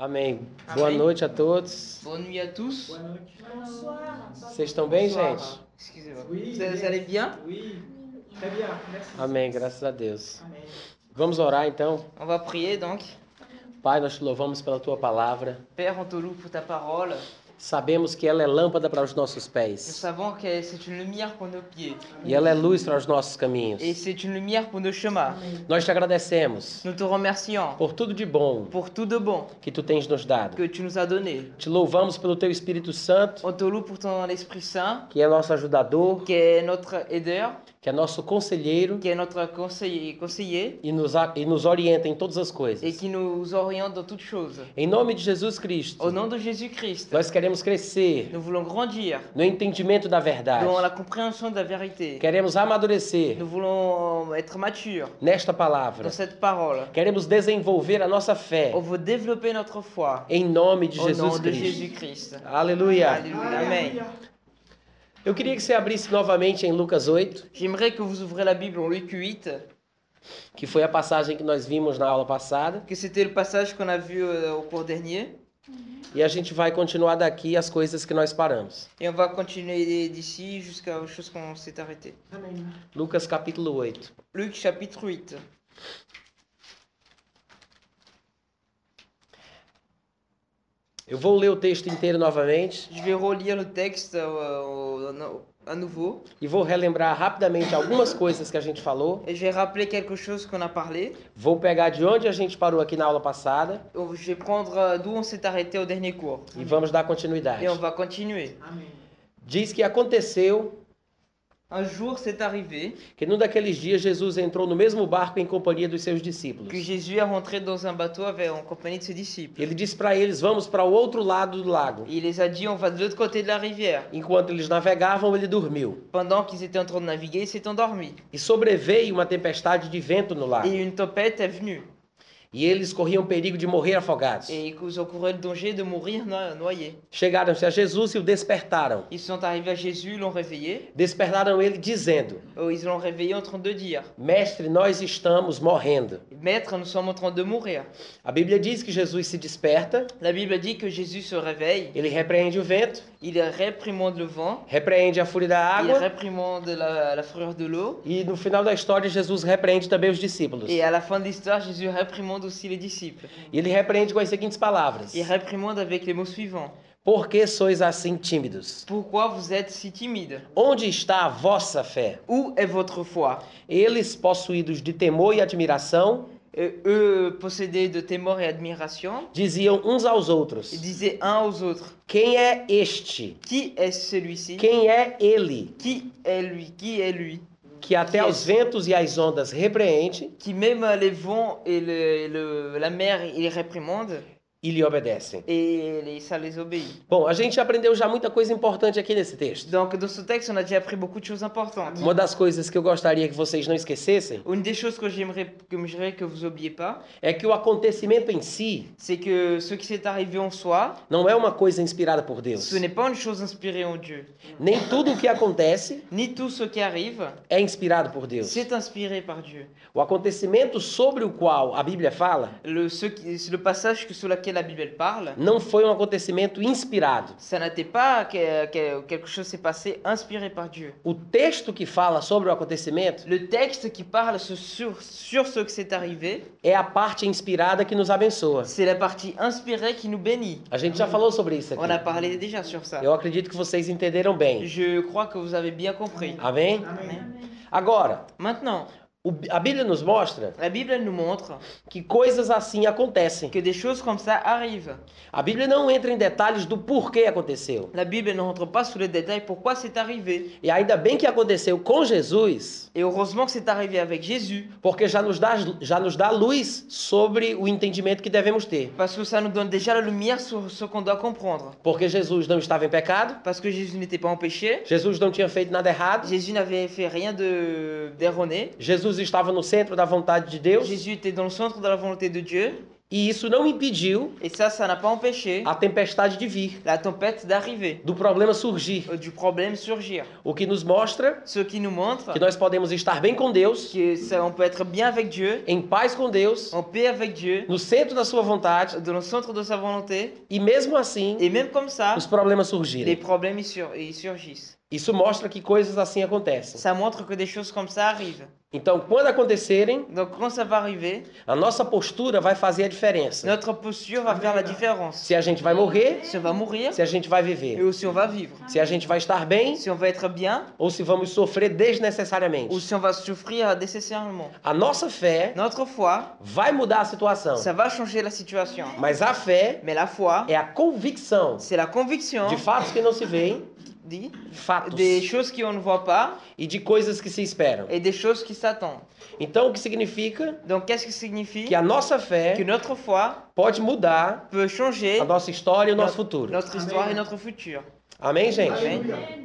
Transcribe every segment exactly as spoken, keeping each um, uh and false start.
Amém. Amém. Boa noite a todos. Bonne nuit à tous. Boa noite. Vocês estão bem, Bonsoir. gente? Excusez-moi. Oui, Vous, vous allez bien? Oui, très bien, merci. Amém, graças a Deus. Amém. Vamos orar então. On va prier donc. Pai, nós te louvamos pela tua palavra. Père, on te loue pour ta parole. Sabemos que ela é lâmpada para os nossos Nous pés savons que c'est une lumière pour nos pieds e ela é luz para os nossos caminhos. et c'est une lumière pour nos chemins. Nós te agradecemos Nous te remercions por tudo de bom pour tout de bon que tu tens nos dado. que tu nous as donné. Te louvamos pelo teu Espírito Santo, On te loue pour ton Esprit Saint que é nosso ajudador, qui est notre aideur, que é nosso conselheiro qui est notre conseiller, conseiller e nos, a- e nos orienta em todas as et coisas. qui nous oriente dans toutes choses. Em nome de Jesus Cristo, Au nom de Jésus-Christ, nós queremos crescer nous voulons grandir no entendimento da verdade. dans la compréhension de la vérité. Queremos amadurecer Nous voulons être matures nesta palavra. dans cette parole. Queremos desenvolver a nossa fé On veut développer notre foi em nome de au nom Jesus de Cristo. Jésus-Christ. Aleluia. Alléluia. Amen. Eu queria que você abrisse novamente em Lucas oito, J'aimerais que vous ouvrez la Bible en Luc huit, que foi a passagem que nós vimos na aula passada, que c'était le passage qu'on a vu euh, au cours dernier. e a gente vai continuar daqui as coisas que nós paramos. Et on va continuer d'ici jusqu'aux choses qu'on s'est arrêté. Amém. Lucas capítulo oito. Luc chapitre huit. Eu vou ler o texto inteiro novamente Je vais relire le texte euh, au- à nouveau e vou relembrar rapidamente algumas coisas que a gente falou. et je vais rappeler quelque chose qu'on a parlé. Vou pegar de onde a gente parou aqui na aula passada Je vais prendre euh, d'où on s'est arrêté au dernier cours e vamos dar et continuidade. on va continuer. Amém. Diz que aconteceu Un jour, c'est arrivé que num daqueles dias Jesus entrou no mesmo barco em companhia dos seus discípulos. que Jésus est rentré dans un bateau avec, en compagnie de ses disciples. Ele disse para eles: vamos para o outro lado do lago. Il les a dit, on va de l'autre côté de la rivière. Enquanto eles navegavam, ele dormiu. Pendant qu'ils étaient en train de naviguer, il s'est endormi. E sobreveio uma tempestade de vento no lago. Et une tempête est venue. E eles corriam perigo de morrer afogados. Et ils ont couru le danger de mourir no- noyés. Chegaram-se a Jesus e o despertaram. Ils sont arrivés à Jésus, l'ont réveillé. Despertaram ele dizendo: Oh, ils l'ont réveillé en train de dire, Mestre, nós estamos morrendo. Maître, nous sommes en train de mourir. A Bíblia diz que Jesus se desperta, La Bible dit que Jésus se réveille. ele repreende o vento, Il réprimande le vent. repreende a fúria da Il água réprimande la, la fureur de l'eau. e no final da história Jesus repreende também os discípulos. Et à la fin de l'histoire, Jésus réprimande aussi les disciples. E ele repreende com as seguintes palavras: Il réprimande avec les mots suivants. Por que sois assim tímidos? Pourquoi vous êtes si timides? Onde está a vossa fé? Où est votre foi? Eles, possuídos de temor e admiração, Et eux, possédés de témor et admiration, diziam uns aos outros: ils disaient un aux autres, Quem é este? qui est celui-ci? Quem é ele? Qui est lui? Qui est lui? Que até aos ventos e às ondas repreende Qui même les vents et le, le- la mer, il les réprimande e lhe obedecem. et les- ça les obéit. Bom, a gente aprendeu já muita coisa importante aqui nesse texto. Donc dans ce texte, on a déjà appris beaucoup de choses importantes. Uma das coisas que eu gostaria que vocês não esquecessem Une des choses que j'aimerais que j'aimerais que vous oubliez pas, é que o acontecimento em si c'est que ce qui s'est arrivé en soi, não é uma coisa inspirada por Deus. ce n'est pas une chose inspirée en Dieu. Nem tudo o que acontece Ni tout ce qui arrive, é inspirado por Deus. c'est inspiré par Dieu. O acontecimento sobre o qual a Bíblia fala Le, ce qui- le passage que- sur lequel la Bible elle parle, não foi um acontecimento inspirado. ça n'était pas que, que quelque chose s'est passé inspiré par Dieu. O texto que fala sobre o acontecimento Le texte qui parle sur, sur, sur ce qui s'est arrivé, é a parte inspirada que nos abençoa. c'est la partie inspirée qui nous bénit. A gente já falou sobre isso On a aqui. parlé déjà sur ça. Eu acredito que vocês entenderam bem. Je crois que vous avez bien compris. Amém? Amém. Agora, Maintenant, o- a Bíblia nos mostra la Bible elle nous montre que coisas assim acontecem. que des choses comme ça arrivent. A Bíblia não entra em detalhes do porquê aconteceu. La Bible ne rentre pas sous les détails pourquoi c'est arrivé. E ainda bem que aconteceu com Jesus, Et heureusement que c'est arrivé avec Jésus, porque já nos dá, já nos dá luz sobre o entendimento que devemos ter. parce que ça nous donne déjà la lumière sur ce qu'on doit comprendre. Porque Jesus não estava em pecado, Parce que Jésus n'était pas en péché, Jesus não tinha feito nada errado, Jésus n'avait fait rien de d'erroné, Jesus estava no centro da vontade de Deus Jésus était dans le centre de la volonté de Dieu, E isso não impediu Et ça, ça n'a pas empêché a tempestade de vir, la tempête d'arriver, do problema surgir. euh, du problème surgir. O que nos mostra Ce qui nous montre que nós podemos estar bem com Deus, que ça, on peut être bien avec Dieu, em paz com Deus, en paix avec Dieu, no centro da sua vontade, dans le centre de sa volonté, e mesmo assim et même comme ça, os problemas les surgirem. problèmes ils sur- ils surgissent. Isso mostra que coisas assim acontecem. Ça montre que des choses comme ça arrivent. Então, quando acontecerem, Donc quand ça va arriver, a nossa postura vai fazer a diferença. notre posture va faire la différence. Se a gente vai morrer, Si on va mourir, se a gente vai et viver. aussi on va vivre. Se a gente vai estar bem Si on va être bien, ou se vamos sofrer ou desnecessariamente. si on va souffrir nécessairement. A nossa fé Notre foi, vai mudar a situação, ça va changer la situation. mas a fé Mais la foi, é a convicção c'est la conviction de fatos que não se veem, dit, fatos, des choses qu'on ne voit pas e de coisas que se esperam. et des choses qui s'attendent. Então, o que significa Donc qu'est-ce que signifie que a nossa fé que notre foi pode mudar peut changer a nossa história e o nosso notre, futuro. notre histoire et notre futur. Amém, gente? Amen.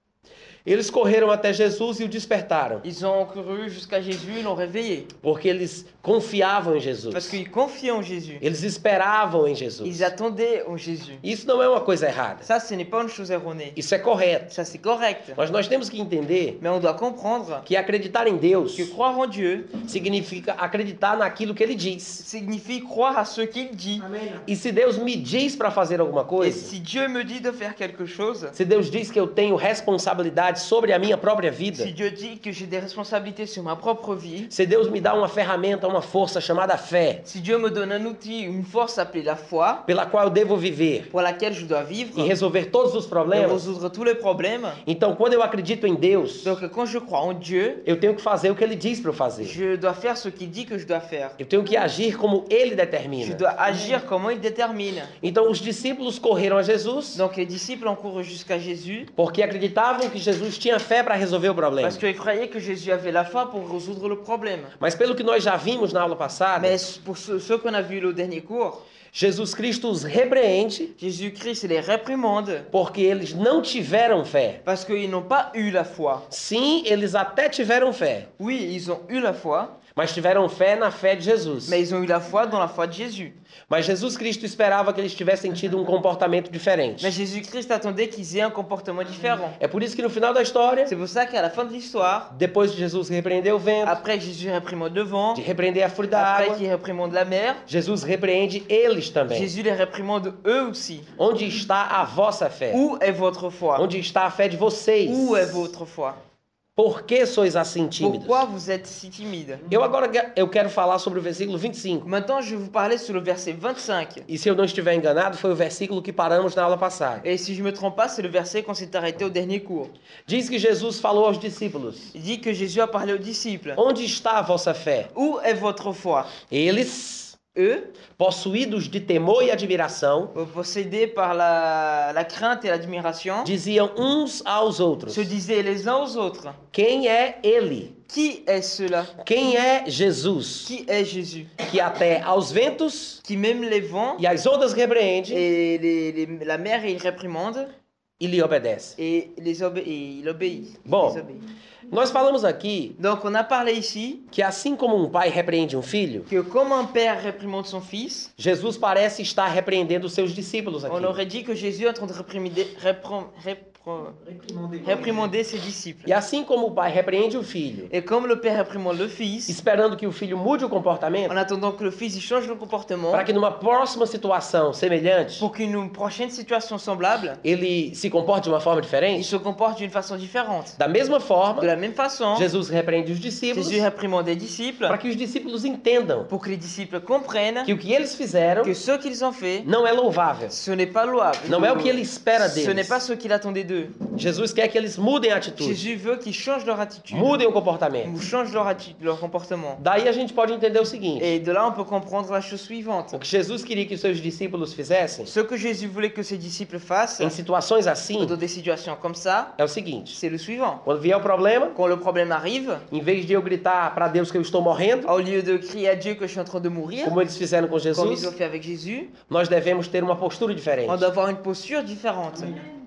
Eles correram até Jesus e o despertaram, Ils ont couru jusqu'à Jésus, ils l'ont réveillé. porque eles confiavam em Parce Jesus. qu'ils confiaient en Jésus. Eles esperavam em Jesus. Ils attendaient en Jésus. Isso não é uma coisa errada. Ça, ce n'est pas une chose erronée. Isso é correto. Ça, c'est correct. Mas nós temos que entender Mais on doit comprendre que acreditar em Deus que croire en Dieu significa acreditar naquilo que Ele diz. signifie croire à ce qu'il dit. Amen. E se Deus me diz para fazer alguma Et coisa, si Dieu me dit de faire quelque chose, se Deus diz que eu tenho responsabilidade sobre a minha própria si vida, Dieu dit que j'ai des responsabilités sur ma propre vie, se Deus me dá uma ferramenta, uma força chamada fé, si Dieu me donne un outil, une force appelée la foi, pela qual eu devo viver pour laquelle je dois vivre, e resolver todos os et problemas, résoudre tous les problèmes, então quando eu acredito em Deus, donc quand je crois en Dieu, eu tenho que fazer o que Ele diz para eu fazer. je dois faire ce qu'il dit que je dois faire. Eu tenho que agir como Ele Je determina. dois agir comment il détermine. Então os discípulos correram a Jesus Donc les disciples ont couru jusqu'à Jésus porque acreditavam que Jesus tinha fé para resolver o problema. parce qu'ils croyaient que Jésus avait la foi pour résoudre le problème. Mas pelo que nós já vimos na aula passada, Mais pour ceux, ceux qu'on a vus au dernier cours, Jesus Cristo os repreende Jésus-Christ les réprimande porque eles não tiveram fé. parce qu'ils n'ont pas eu la foi. Sim, eles até tiveram fé, Oui, ils ont eu la foi, mas tiveram fé na fé de Jesus. mais ils ont eu la foi dans la foi de Jésus. Mas Jesus Cristo esperava que eles tivessem tido um comportamento diferente. Mais Jésus-Christ attendait qu'ils aient un comportement différent. É por isso que no final da história, C'est pour ça qu'à la fin de l'histoire, depois de Jesus repreender o vento, après que Jésus réprimande le vent, de repreender a fúria da après água, qu'il réprimande la mer, Jesus repreende eles também. Jésus les réprimande eux aussi. Onde está a vossa fé? Où est votre foi? Onde está a fé de vocês? Où est votre foi? Por que sois assim tímidos? Pourquoi vous êtes si timide? Eu agora que- eu quero falar sobre o versículo vinte e cinco. Maintenant, je vais vous parler sur le verset vingt-cinq. E se eu não estiver enganado, foi o versículo que paramos na aula passada. Et si je me trompe pas, c'est le verset qu'on s'est arrêté au dernier cours. Diz que Jesus falou aos discípulos: Il dit que Jésus a parlé aux disciples. Onde está a vossa fé? Où est votre foi? Eles, Eux, possuídos de temor e admiração, possédés par la, la crainte et l'admiration, diziam uns aos outros: se disaient les uns aux autres, Quem é ele? qui est cela? Quem é Jesus? Qui est Jésus? Que até aos ventos Qui même les vents e às ondas repreende et les- les- la mer il réprimande e lhe obedece. et, les obé- et il obéit. Il Bon. les obéit. Nós falamos aqui Donc on a parlé ici que assim como um pai repreende um filho, que comme un père réprimande son fils, Jesus parece estar repreendendo os seus discípulos aqui. on aurait dit que Jésus est en train de réprimander, réprom- répro- Réprimandez. réprimander ses disciples. E assim como o pai repreende o filho, Et comme le père réprimande le fils, esperando que o filho mude o comportamento, en attendant que le fils il change de comportement, para que numa próxima situação semelhante, pour qu'une prochaine situation semblable, ele se comporte de uma forma il diferente, se comporte d'une façon différente. da mesma forma, De la même façon, Jesus repreende os discípulos Jésus réprimande les disciples para que os discípulos entendam pour que les disciples comprennent que o que eles fizeram que ce qu'ils ont fait, não é louvável, ce n'est pas louable. não é o que ele espera Ce n'est deles. pas ce qu'il attendait d'eux. Jesus quer que eles mudem a atitude, Jésus veut qu'ils changent leur attitude, mudem o comportamento. ou changent leur, atti- leur comportement. Daí a gente pode entender o seguinte: Et de là, on peut comprendre la chose suivante. o que Jesus queria que os seus discípulos fizessem Ce que Jésus voulait que ses disciples fassent em situações assim dans des situations comme ça, é o seguinte: c'est le suivant. quando vier o problema, Quand le problème arrive, em vez de eu gritar para Deus que eu estou morrendo, au lieu de crier à Dieu que je suis en train de mourir, como eles fizeram com comme ils Jesus, ont fait avec Jésus, nós devemos ter uma postura diferente. on doit avoir une posture différente.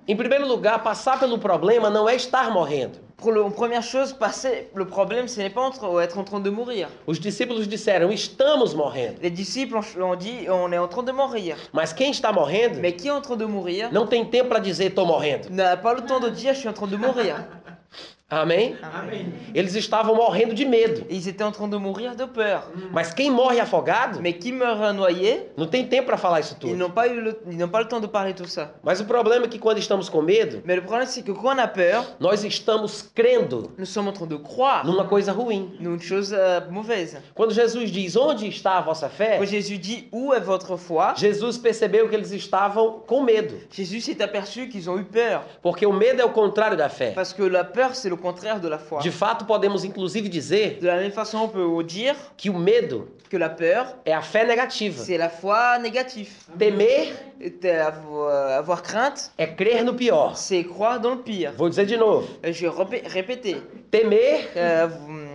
Em primeiro lugar, passar pelo problema não é estar morrendo. Pour le, première chose, passer le problème, ce n'est pas entre- être en train de mourir. Os discípulos disseram, estamos morrendo. Les disciples ont, ont dit, on est en train de mourir. Mas quem está morrendo Mais qui est en train de mourir não tem tempo para dizer, estou morrendo. n'a pas le temps de dire, je suis en train de mourir. Amém? Amen. Eles estavam morrendo de medo. Ils étaient en train de mourir de peur. Mas quem morre afogado Mais qui meurt noyé, não tem tempo para falar isso ils tudo. n'ont pas eu le, ils n'ont pas le temps de parler tout ça. Mas o problema é que quando estamos com medo, Mais le problème, c'est que quand on a peur, nós estamos crendo nous sommes en train de croire numa coisa ruim. une chose euh, mauvaise. Quando Jesus diz, onde está a vossa fé? Quand Jésus dit, où est votre foi? Jesus percebeu que eles estavam com medo. Jésus s'est aperçu qu'ils ont eu peur. Porque o medo é o contrário da fé. Parce que la peur, c'est le contraire de la foi. De fato, podemos inclusive dizer De la même façon, on peut dire que o medo que la peur, é a fé negativa. c'est la foi négative. Temer Et avoir, avoir crainte, é crer no pior. c'est croire dans le pire. Vou dizer de novo. Euh, Je vais répé- répéter. Temer, Euh, hum,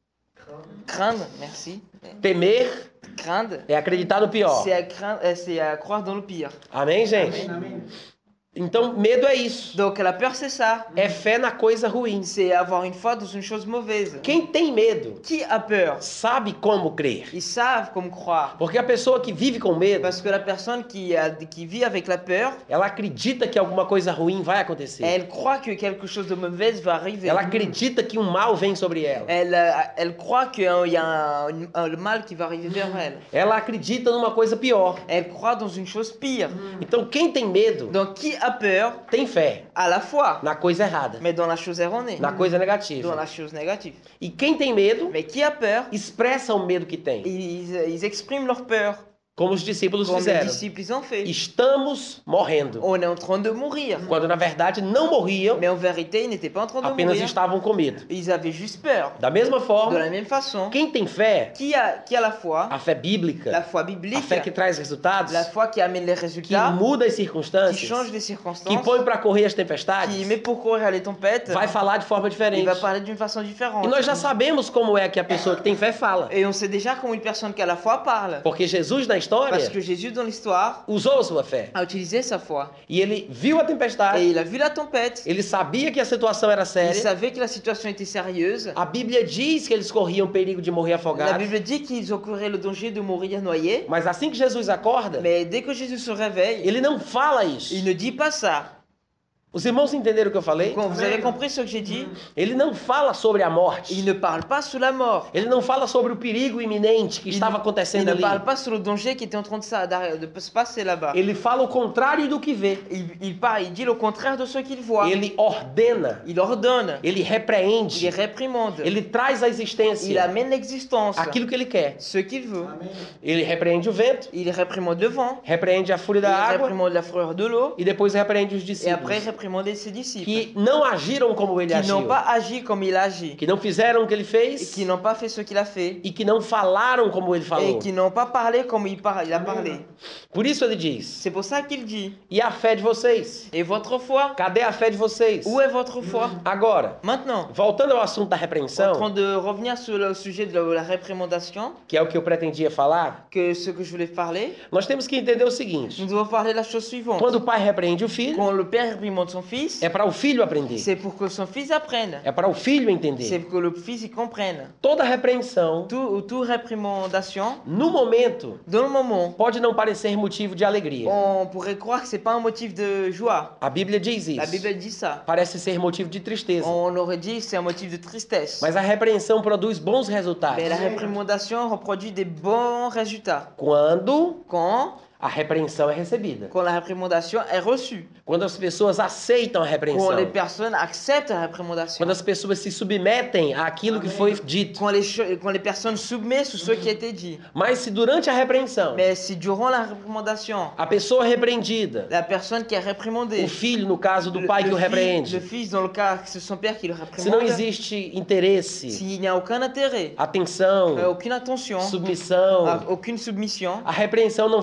craindre, merci. temer Craindre, é acreditar no pior. c'est à, craindre, euh, c'est à croire dans le pire. Amém, gente? Amen. Então, medo é isso. Donc la peur, c'est ça. É fé na coisa ruim. C'est avoir une foi dans une chose mauvaise. Quem tem medo Qui a peur? sabe como crer. Ils savent comme croire. Porque a pessoa que vive com medo, Parce que la personne qui, a, qui vit avec la peur, ela acredita que alguma coisa ruim vai acontecer. elle croit que quelque chose de mauvais va arriver. Ela acredita que um mal vem sobre ela. Elle, euh, elle croit qu'il y a un, un- un- le mal qui va arriver vers elle. Ela acredita numa coisa pior. Elle croit dans une chose pire. Então, quem tem medo Donc qui a peur tem fé a la foi, na coisa errada, mais dans la chose erronée, na coisa dans negativa. la chose négative. E quem tem medo Mais qui a peur, expressa o medo que tem, ils, ils expriment leur peur, como os discípulos comme les fizeram. disciples ils ont fait. Estamos morrendo. On est en train de mourir. Quando na verdade não morriam, Mais en vérité, ils n'étaient pas en train de apenas mourir. estavam com medo. Ils avaient juste peur. Da mesma De forma, la même façon, quem tem fé, qui a, qui a la foi, a fé la bíblica, foi a biblique, fé que traz resultados, la foi qui amène les que résultats, muda as qui circunstâncias, change les que circonstances, põe para correr as qui tempestades, met pour courir les tempêtes, vai falar de forma il diferente. va parler d'une façon différente. E nós já sabemos como é que a pessoa que tem fé fala. Et on sait déjà comment une personne qui a la foi parle. Porque Jesus na história Parce que Jésus, dans l'histoire, usou a sua fé. a utilisé sa foi. E ele viu a Et tempestade, il a vu la tempête. ele sabia que a situação era Il séria. savait que la situation était sérieuse. A Bíblia diz que eles corriam perigo de morrer La afogados. Bible dit qu'ils ont couru le danger de mourir noyés. Mas assim que Jesus acorda, Mais dès que Jésus se réveille, ele não fala isso. il ne dit pas ça. Os irmãos entenderam o que eu falei? Quand vous avez compris ce que j'ai dit, Ele não fala sobre a morte. il ne parle pas sur la mort. Ele não fala sobre o perigo iminente que Il, estava il acontecendo ne ali. parle pas sur le danger qui était en train de, ça- d'arri- de se passer là-bas. Ele fala o contrário do que vê. Il, il, parle, il dit le contraire de ce qu'il voit. Ele ordena, Il ordonne, ele il repreende, réprimande, ele traz à il existência amène l'existence, aquilo que ele quer. ce qu'il veut. Amen. Ele repreende o vento, Il réprimande le vent, repreende a fúria il da água réprimande la fureur de l'eau, e depois repreende os et après il discípulos réprimande ses disciples, que não agiram como ele qui agiu, n'ont pas agi comme il agit, que não fizeram o que ele et fez qui n'ont pas fait ce qu'il a fait, e que não falaram como ele et falou. qui n'ont pas parlé comme il, par- il a parlé. Por isso ele diz: C'est pour ça qu'il dit, e a fé de vocês? et votre foi, Cadê a fé de vocês? où est votre foi? Agora, Maintenant, voltando ao assunto da en train repreensão, de revenir sur le sujet de la, la réprimandation, que é o que eu pretendia falar, que ce que je voulais parler, nós temos que entender o seguinte: nous devons parler de la chose suivante. quando o pai repreende o filho, Quand le père réprimande son fils, é para o filho aprender, c'est pour que son fils apprenne. é para o filho C'est entender. pour que le fils y comprenne. Toda repreensão, Tout, tout réprimandation, no momento, dans le moment, pode não parecer motivo de alegria. on pourrait croire que c'est pas un motif de joie. A Bíblia diz La isso. Bible dit ça. Parece ser motivo de tristeza. On aurait dit que c'est un motif de tristesse. Mas a repreensão produz bons resultados. Mais la réprimandation reproduit des bons résultats. Quando Quand, a repreensão é recebida. quand la réprimandation est reçue. Quando as pessoas aceitam a Quand repreensão. les personnes acceptent la réprimandation. Quando as pessoas se submetem àquilo que foi dito. Quand les, cho- quand les personnes submettent sur ce qui a été dit. Mas se durante a repreensão, Mais si durant la réprimandation, a pessoa repreendida, la personne qui est réprimandée, o filho, no caso do le, pai que le o fils, le repreende, fils, dans le cas que c'est son père qui le se não réprimande, existe interesse, s'il n'y a aucun intérêt, euh, atenção, aucune attention, submissão, euh, aucune submission, a repreensão não vai fazer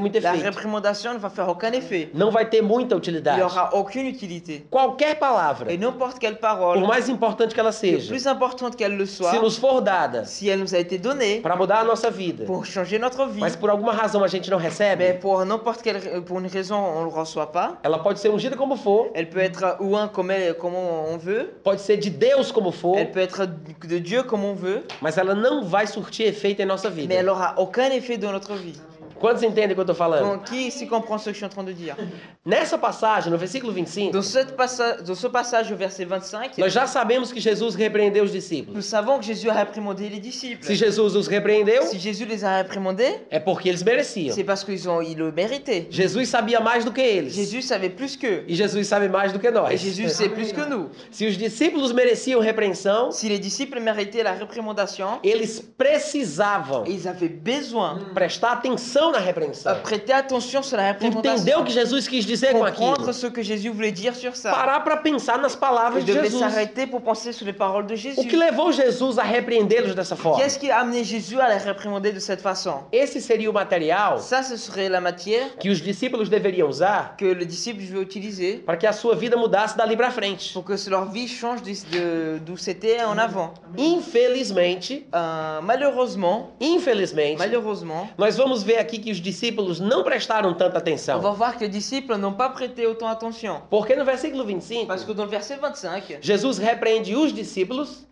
muito La efeito. réprimandation ne va faire aucun effet. Não vai ter muita Il n'y utilidade. aura aucune utilité. Qualquer palavra, Et n'importe quelle por parole, mais importante que ela le seja, plus importante qu'elle le se soit, nos for dada si elle nous a été donnée para mudar a nossa vida, pour changer notre vie, mas por alguma razão a gente não mais recebe, pour n'importe quelle pour une raison on ne le reçoit pas, ela pode ser ungida como for, elle peut être ou un comme, elle- comme on veut, pode ser de Deus como for, elle peut être de Dieu comme on veut, mas ela não vai surtir efeito em nossa mais vida. elle aura aucun effet dans notre vie. Quantos entendem o que eu estou falando? Donc qui ici comprend ce que je suis en train de dire? Nessa passagem, no versículo vinte e cinco, Dans, cette passa- dans ce passage au verset vingt-cinq, nós já sabemos que Jesus repreendeu os discípulos. nous savons que Jésus a réprimandé les disciples. Se Jesus os repreendeu, Si Jésus les a réprimandés, é porque eles mereciam. c'est parce qu'ils ont ils le méritaient. Jesus sabia mais do que eles. Jésus savait plus qu'eux. E Jesus sabe mais do que Et nós. Jésus sait plus que nous. Se os discípulos mereciam repreensão, Si les disciples méritaient la réprimandation, eles precisavam ils avaient besoin prestar atenção na de repreensão. prêter attention sur la Entender réprimandation. o que Jesus quis dizer com Comprendre aquilo. ce que Jésus voulait dire sur ça. Parar para pensar nas palavras Ils de devaient Jesus. s'arrêter pour penser sur les paroles de O que Jésus. levou Jesus a repreendê-los dessa forma? Qu'est-ce qui a amené Jésus à les réprimander de cette façon? Esse seria o material Ça, ce serait la matière que os discípulos deveriam usar que le disciple veut utiliser para que a sua vida mudasse dali para frente. pour que leur vie change de- de- d'où c'était en avant. Infelizmente, Euh, malheureusement, infelizmente, malheureusement, nós vamos ver aqui que os discípulos não prestaram tanta on atenção. va voir que les disciples n'ont pas prêté autant attention. Porque no versículo vinte e cinco, Parce que dans le verset vingt-cinq, Jesus repreende os discípulos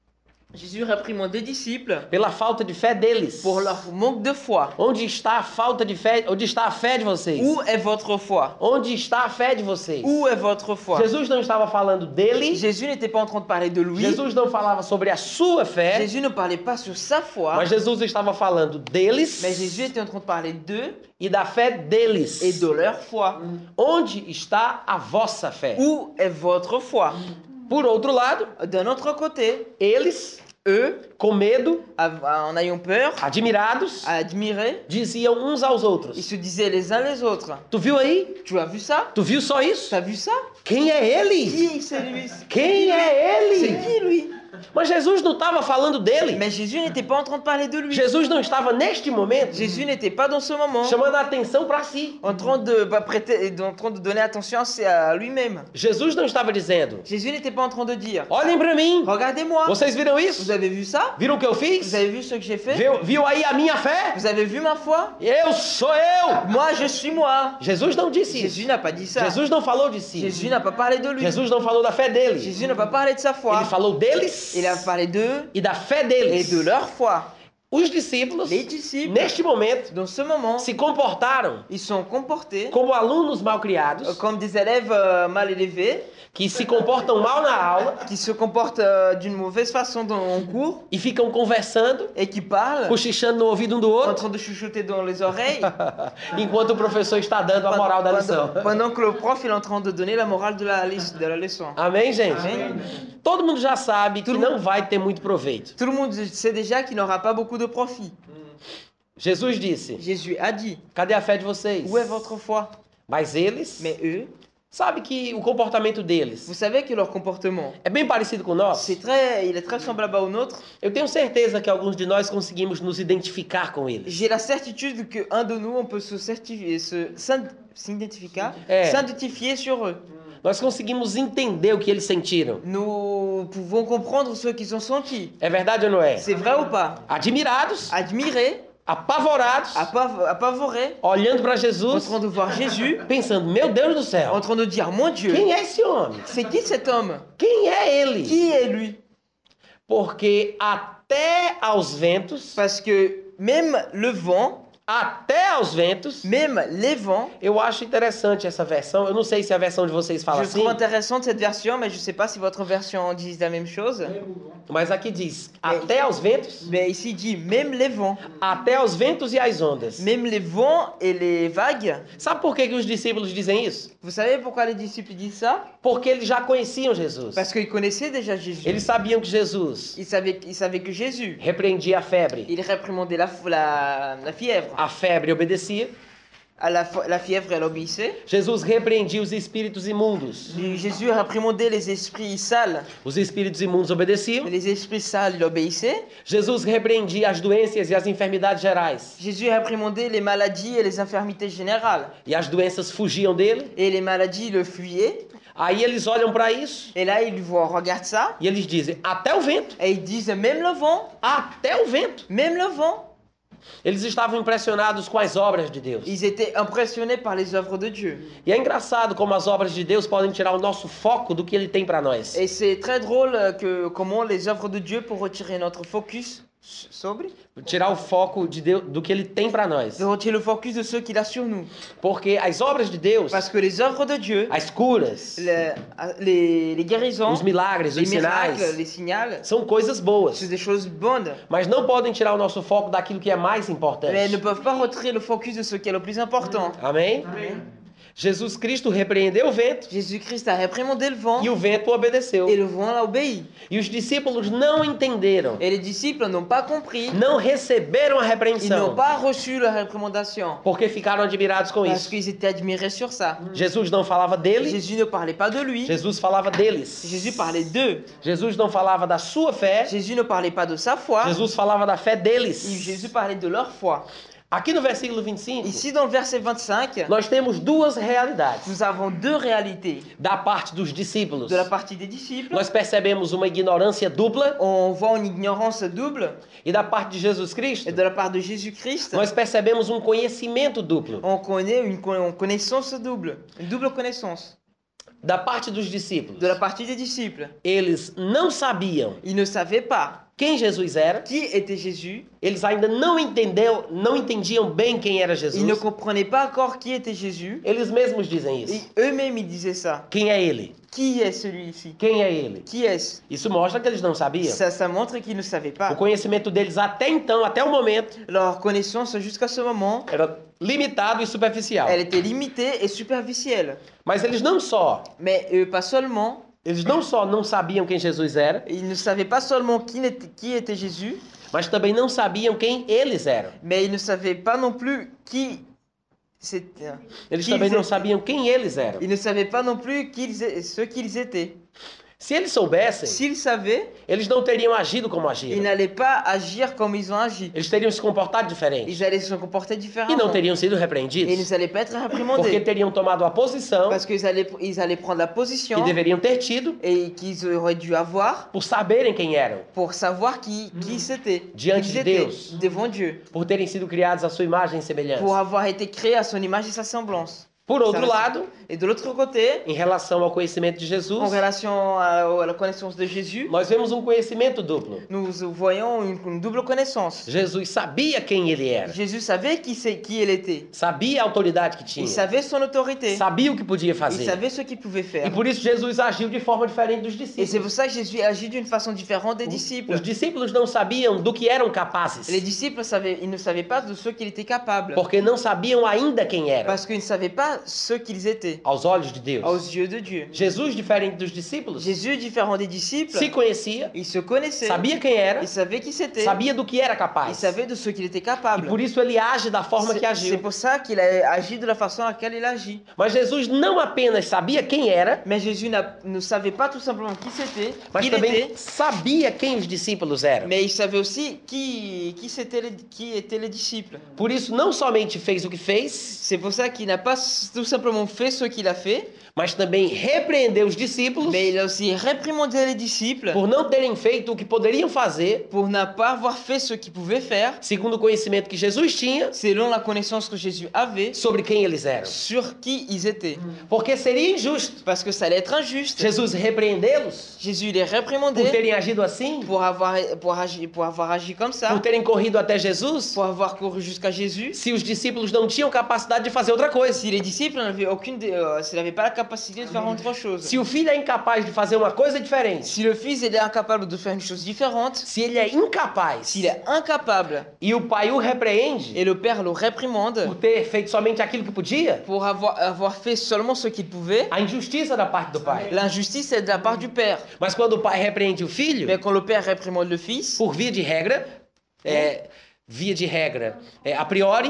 Jésus réprimande des disciples pela falta de fé deles. pour leur manque de foi. Onde está a falta de fé? Onde está a fé de vocês? Où est votre foi? Onde está a fé de vocês? Où est votre foi? Jesus não estava falando dele. Jésus n'était pas en train de parler de lui. Jesus não falava sobre a sua fé. Jésus ne parlait pas sur sa foi. Mas Jesus estava falando deles Mais Jésus était en train de parler d'eux e da fé deles. et de leur foi. Onde está a vossa fé? Où est votre foi? Por outro lado, D'un autre côté, eles, eux, com medo, av- en ayant peur, admirados, admirés, diziam uns aos ils outros: se disaient les uns les autres. Tu viu aí? Tu as vu ça? Tu viu só isso? T'as vu ça? Quem é ele? Qui c'est lui? Quem é C'est ele? qui lui? Mas Jesus não estava falando dele. Mais Jésus n'était pas en train de parler de lui. Jesus não estava neste momento Jésus n'était pas dans ce moment chamando a atenção para si. en train de bah, prêter, en train de donner attention à lui-même. Jesus não estava dizendo: Jésus n'était pas en train de dire Olhem para mim. regardez-moi. Vocês viram isso? Vous avez vu ça? Viram o que eu Vous fiz? avez vu ce que j'ai fait? Viu, viu aí a minha fé? Vous avez vu ma foi? Eu sou eu. Moi, je suis moi. Jesus não disse Jésus isso. n'a pas dit ça. Jesus não falou de si. Jésus n'a pas parlé de lui. Jesus não falou da fé dele. Jésus n'a pas parlé de sa foi. Ele falou deles Il a parlé d'eux e da fé et deles. de leur foi. Os discípulos, Les disciples, neste momento, dans ce moment, se comportaram ils sont comportés como alunos mal euh, criados, comme des élèves euh, mal élevés, que se comportam mal na aula qui se comportent euh, d'une mauvaise façon dans en cours e ficam conversando, et qui parlent cochichando no ouvido um do en outro, train de chuchoter dans les oreilles enquanto o professor está dando a moral da lição. pendant, pendant que le prof il est en train de donner la morale de la, lis- de la leçon. Amém, gente? Amém. Todo mundo já sabe que Todo não vai ter muito proveito. Tout le monde sait déjà qu'il n'aura pas beaucoup de profit. Jesus disse: Jésus a dit, Cadê a fé de vocês? où est votre foi? Mas eles, Mais eux, sabe que o comportamento deles vous savez que leur comportement, é bem parecido com o nosso? c'est très, il est très semblable au nôtre. Eu tenho certeza que alguns de nós conseguimos nos identificar com eles. J'ai la certitude que un de nous, on peut se certifier, se s'in- s'identifier, Eh. s'identifier sur eux. Nós conseguimos entender o que eles sentiram. Nous pouvons comprendre ce qu'ils ont senti. É verdade ou não é? C'est vrai ou pas? Admirados, Admirés, apavorados, apav- apavorés, olhando para en Jesus, train de voir Jésus, pensando: Meu Deus do en céu, train de dire, mon Dieu, quem é esse homem? c'est qui cet homme? Quem é ele? Qui est lui? Porque até aos ventos, Parce que même le vent, até aos ventos, même les vents, eu acho interessante essa versão. Eu não sei se a versão de vocês fala je assim, trouve intéressante cette version, mais je ne sais pas si votre version dit la même chose. mas aqui diz: até aos ventos, Mais ici il dit même les vents, até aos ventos e às ondas. même les vents et les vagues. Sabe por que, que os discípulos dizem isso? Vous savez pourquoi les disciples disent ça? Porque eles já conheciam Jesus. Parce qu'ils connaissaient déjà Jésus. Eles sabiam que Jesus Ils savaient, ils savaient que Jésus, repreendia a febre. il réprimandait la, la, la fièvre. A febre obedecia. À la, fo- la fièvre, elle obéissait. Jesus repreendia os espíritos imundos. Et Jésus réprimandait les esprits sales. Os espíritos imundos obedeciam. Les esprits sales, il obéissait. Jesus repreendia as doenças e as enfermidades gerais. Jésus réprimandait les maladies et les infirmités générales. E as doenças fugiam dele. Et les maladies le fuyaient. Aí eles olham para isso Et là, ils voient, regarde ça. e eles dizem, até o vento, Et ils disent, même le vent, até o vento. même le vent. Eles estavam impressionados com as obras de Deus. Ils étaient impressionnés par les œuvres de Dieu. E é engraçado como as obras de Deus podem tirar o nosso foco do que ele tem para nós. Et c'est très drôle euh, que comment les œuvres de Dieu pour retirer notre focus sobre, Tirar o foco de Deus, do que ele tem para nós. de retirer le focus de ce qu'il a sur nous. Porque as obras de Deus, Parce que les œuvres de Dieu, as curas, les, les, les guérisons, os milagres, les os miracles, sinais, les signaux, são coisas boas. c'est des choses bonnes. Mas não podem tirar o nosso foco daquilo que é mais Mais elles ne importante. peuvent pas retirer le focus de ce qui est le plus important. Amém? Amém. Jesus Cristo repreendeu o vento Jésus-Christ a réprimandé le vent e o vento obedeceu. et le vent l'a obéi. E os discípulos não entenderam, Et les disciples n'ont pas compris, não receberam a ils n'ont repreensão, pas reçu la réprimandation porque ficaram admirados com parce isso. qu'ils étaient admirés sur ça. Jesus não falava dele, Jésus ne parlait pas de lui, Jesus falava deles. Jésus parlait d'eux. Jesus não falava da sua fé, Jésus ne parlait pas de sa foi, Jesus falava da fé et deles. Jésus parlait de leur foi. Aqui no versículo vinte e cinco, Ici, dans le verset vingt-cinq, nós temos duas realidades. nous avons deux réalités. Da parte dos discípulos, De la partie des disciples, nós percebemos uma ignorância dupla, on voit une ignorance double, e da parte de Jesus et Cristo, de la part de Jésus-Christ, nós percebemos um conhecimento duplo. on connaît une con- une connaissance double, une double connaissance. Da parte dos discípulos, De la partie des disciples, eles não sabiam ils ne savaient pas quem Jesus era, qui était Jésus, eles ainda não entenderam, não entendiam bem quem era ils ne Jesus. comprenaient pas encore qui était Jésus, Eles mesmos dizem et isso. eux-mêmes ils disaient ça. Quem é ele? Qui est celui-ci? Quem é ele? Qui est-ce? Isso mostra que eles não sabiam. Ça, ça montre qu'ils ne savaient O pas. conhecimento deles até então, até o momento, Leur connaissance jusqu'à ce moment, era limitado e superficial. elle était limitée et superficielle. Mas eles não só, Mais euh, pas seulement, eles não só não sabiam quem Jesus era, ils ne savaient pas seulement qui était, qui était Jésus, mas também não sabiam quem eles eram. mais ils ne savaient pas non plus qui c'était. Eles Qui também ils não étaient. sabiam quem eles eram. Ils ne savaient pas non plus qui ils é- ce qu'ils étaient. Se eles soubessem, S'ils savaient, eles não teriam agido como ils agiram. n'allaient pas agir comme ils ont agi. Eles teriam se comportado diferente. Ils allaient se comporter E não différemment. teriam sido Et ils repreendidos. n'allaient pas être Porque réprimandés. teriam tomado a posição Parce qu'ils allaient, ils allaient prendre la position que deveriam ter tido et qu'ils auraient dû avoir por saberem quem eram, pour savoir qui, qui c'était. Diante Qui de ils étaient Deus. devant Dieu. por terem sido criados à sua imagem e semelhança. Pour avoir été créés à son image et sa semblance. Por outro Ça, lado, Et de l'autre côté, em relação ao conhecimento de en Jesus, relation à, à la connaissance de Jésus, nós vemos um conhecimento duplo. nous voyons une, une double connaissance. Jesus sabia quem ele era, Jésus savait qui, c'est, qui il était. sabia a autoridade que Il tinha, savait son autorité. sabia o que podia Il fazer. savait ce qu'il pouvait faire. E por isso Jesus agiu de forma diferente dos Et c'est discípulos. pour ça que Jésus agit d'une façon différente des disciples. Os discípulos não sabiam do que eram capazes, Les disciples savaient, ils ne savaient pas de ce qu'il était capable. porque não sabiam ainda quem eram, Parce qu'ils ne savaient pas ce qu'ils étaient aos olhos de Deus. aux yeux de Dieu. Jesus, diferente dos discípulos, Jésus, différent des disciples, se conhecia, il se connaissait. sabia quem era, Il savait qui c'était. sabia do que era Il capaz. savait de ce qu'il était E capable. por isso ele age da forma que C'est c'est agiu. pour ça qu'il a agi de la façon à laquelle il agit. Mas Jesus não apenas sabia quem era, Mais Jésus n'a- ne savait pas tout simplement qui c'était, mas qui il também était, sabia quem os discípulos eram. mais il savait aussi qui, qui, c'était les, qui étaient les disciples. Por isso, não somente fez o que fez, C'est pour ça qu'il n'a pas s- tout simplement fait ce qu'il a fait, mas também repreendeu os discípulos mais il a aussi réprimandé les disciples por não terem feito o que poderiam fazer, pour ne pas avoir fait ce qu'ils pouvaient faire, segundo o conhecimento que Jesus tinha selon la connaissance que Jésus avait sobre quem eles eram. sur qui ils étaient. Porque seria injusto Parce que ça allait être injuste. Jesus repreendê-los Jésus les por réprimandé terem agido assim, pour avoir, pour, agi, pour avoir agi comme ça, por terem corrido até Jesus, pour avoir couru jusqu'à Jésus. se os discípulos não tinham capacidade de fazer outra coisa. Si les disciples n'avaient aucune, de- euh, s'ils n'avaient pas la capacité de faire autre chose, Se o filho é incapaz de fazer uma coisa diferente, si le fils il est incapable de faire une chose différente, se ele é incapaz s'il est incapable e o pai o repreende et le père le réprimande por ter feito somente aquilo que podia, pour avoir, avoir fait seulement ce qu'il pouvait, a injustiça da parte do pai. l'injustice est de la part du père. Mas quando o pai repreende o filho, Mais quand le père réprimande le fils, por via de regra, é, via de regra, é, a priori,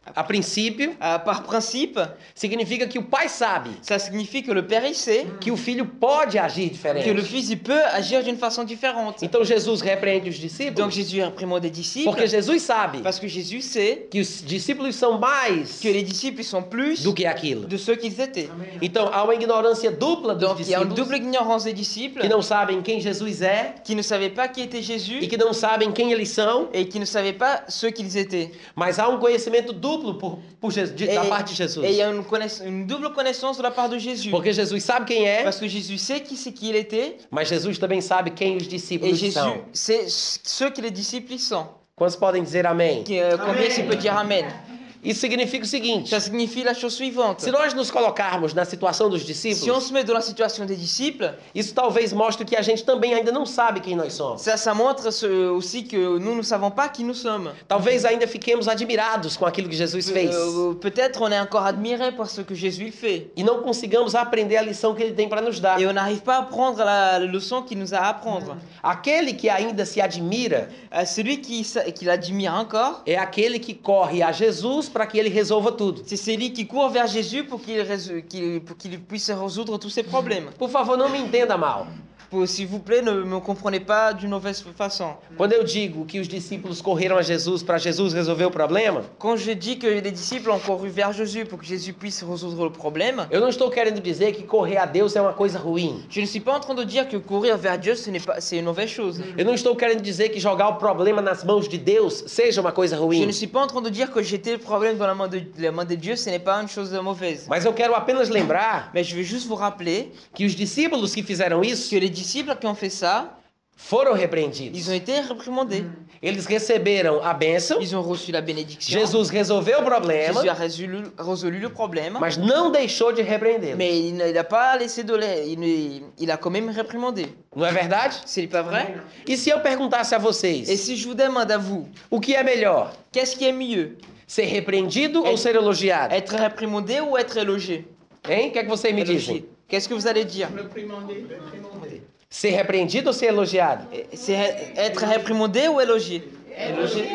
a princípio, Euh, par principe, significa que o pai sabe ça signifie que le père il sait que o filho pode agir que le diferente. fils il peut agir d'une façon différente. Então Jesus repreende os Donc discípulos Jésus réprimande des disciples porque Jesus sabe parce que Jésus sait que os discípulos são mais que les disciples ils sont plus do que aquilo. de ceux qu'ils étaient. Amen. Então há uma ignorância dupla dos Donc il y a une discípulos double ignorance des disciples que não sabem quem Jesus é qui ne savaient pas qui était e Jésus que não sabem quem eles são, et qui ne savaient pas ceux qu'ils étaient. mas há um conhecimento duplo por, por Jesus, de- Et, da parte de Jesus. et il y a une, connaiss- une double connaissance de la part de Jésus. Porque Jesus sabe quem é, Parce que Jésus sait qui c'est qui il était mas Jesus também sabe quem os et discípulos Jésus são. sait ceux que les disciples ils sont. Quantos podem dizer amém? Qui, euh, combien il peut dire Amen? Isso significa o seguinte: Ça signifie la chose suivante. se nós nos colocarmos na situação dos Si on discípulos, se met dans la situation des disciples, isso talvez mostre que a gente também ainda não sabe quem nós somos. ça, ça montre ce- aussi que nous ne savons pas qui nous sommes. Talvez ainda fiquemos admirados com aquilo que Jesus fez Euh, Peut-être on est encore admiré par ce que Jésus il fait. e não consigamos aprender a lição que ele tem para nos dar. Et on n'arrive pas à apprendre la leçon qu'il nous a à apprendre. Aquele que ainda se admira Euh, celui qui, sa- qui l'admire encore, é aquele que corre a Jesus para que ele resolva tudo. c'est celui qui court vers Jésus pour qu'il résou- qu'il- pour qu'il puisse résoudre tous ses problèmes. Por favor, não me entenda mal. Pour- S'il vous plaît, ne me comprenez pas d'une mauvaise façon. Quando eu digo que os discípulos correram a Jesus para Jesus resolver o problema, Quand je dis que les disciples ont couru vers Jésus pour que Jésus puisse résoudre le problème, eu não estou querendo dizer que correr a Deus é uma coisa ruim. je ne suis pas en train de dire que courir vers Dieu, ce n'est pas, c'est une mauvaise chose. Eu não estou querendo dizer que jogar o problema nas mãos de Deus seja uma coisa Je ruim. ne suis pas en train de dire que jeter le problème dans la main de, la main de Dieu, ce n'est pas une chose mauvaise. Mas eu quero apenas lembrar Mais je veux juste vous rappeler que os discípulos que fizeram que isso les disciples qui ont fait ça, foram repreendidos. ils ont été réprimandés. Eles receberam a bênção, Ils ont reçu la bénédiction. Jesus resolveu o problema, Jésus a résolu, résolu le problème. mas não deixou de repreendê-los. Mais il n'a pas laissé de l'air. Il, ne- il a quand même réprimandé. Não é verdade? C'est pas vrai? E se eu perguntasse a Et vocês, si je vous demande à vous, o que é melhor? qu'est-ce qui est mieux? Ser repreendido ou Être- ser elogiado? Être réprimandé ou être élogé? Hein? O que é que vocês me dizem? Élogé. Qu'est-ce que vous allez dire? Reprimandé. Reprimandé. Ser repreendido ou ser elogiado? C'est ré- être réprimandé ou élogé? Élogé.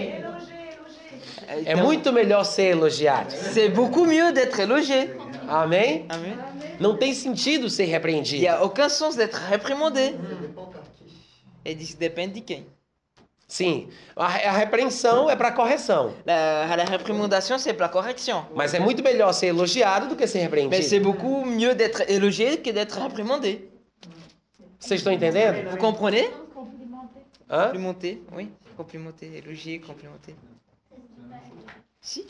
É muito melhor ser elogiado. C'est beaucoup mieux d'être élogé. Amém? Amen. Não tem sentido ser Il n'y repreendido. a aucun sens d'être réprimandé. Et isso depende de quem. Sim, a, a repreensão é para correção. La, la réprimandation, c'est pour la correction. Mas é muito melhor ser elogiado do que ser Mais c'est repreendido. beaucoup mieux d'être élogé que d'être réprimandé. Vocês estão entendendo? Vous comprenez? Hã? Complimenter, oui. Complimenter, élogier, complimenter. Si?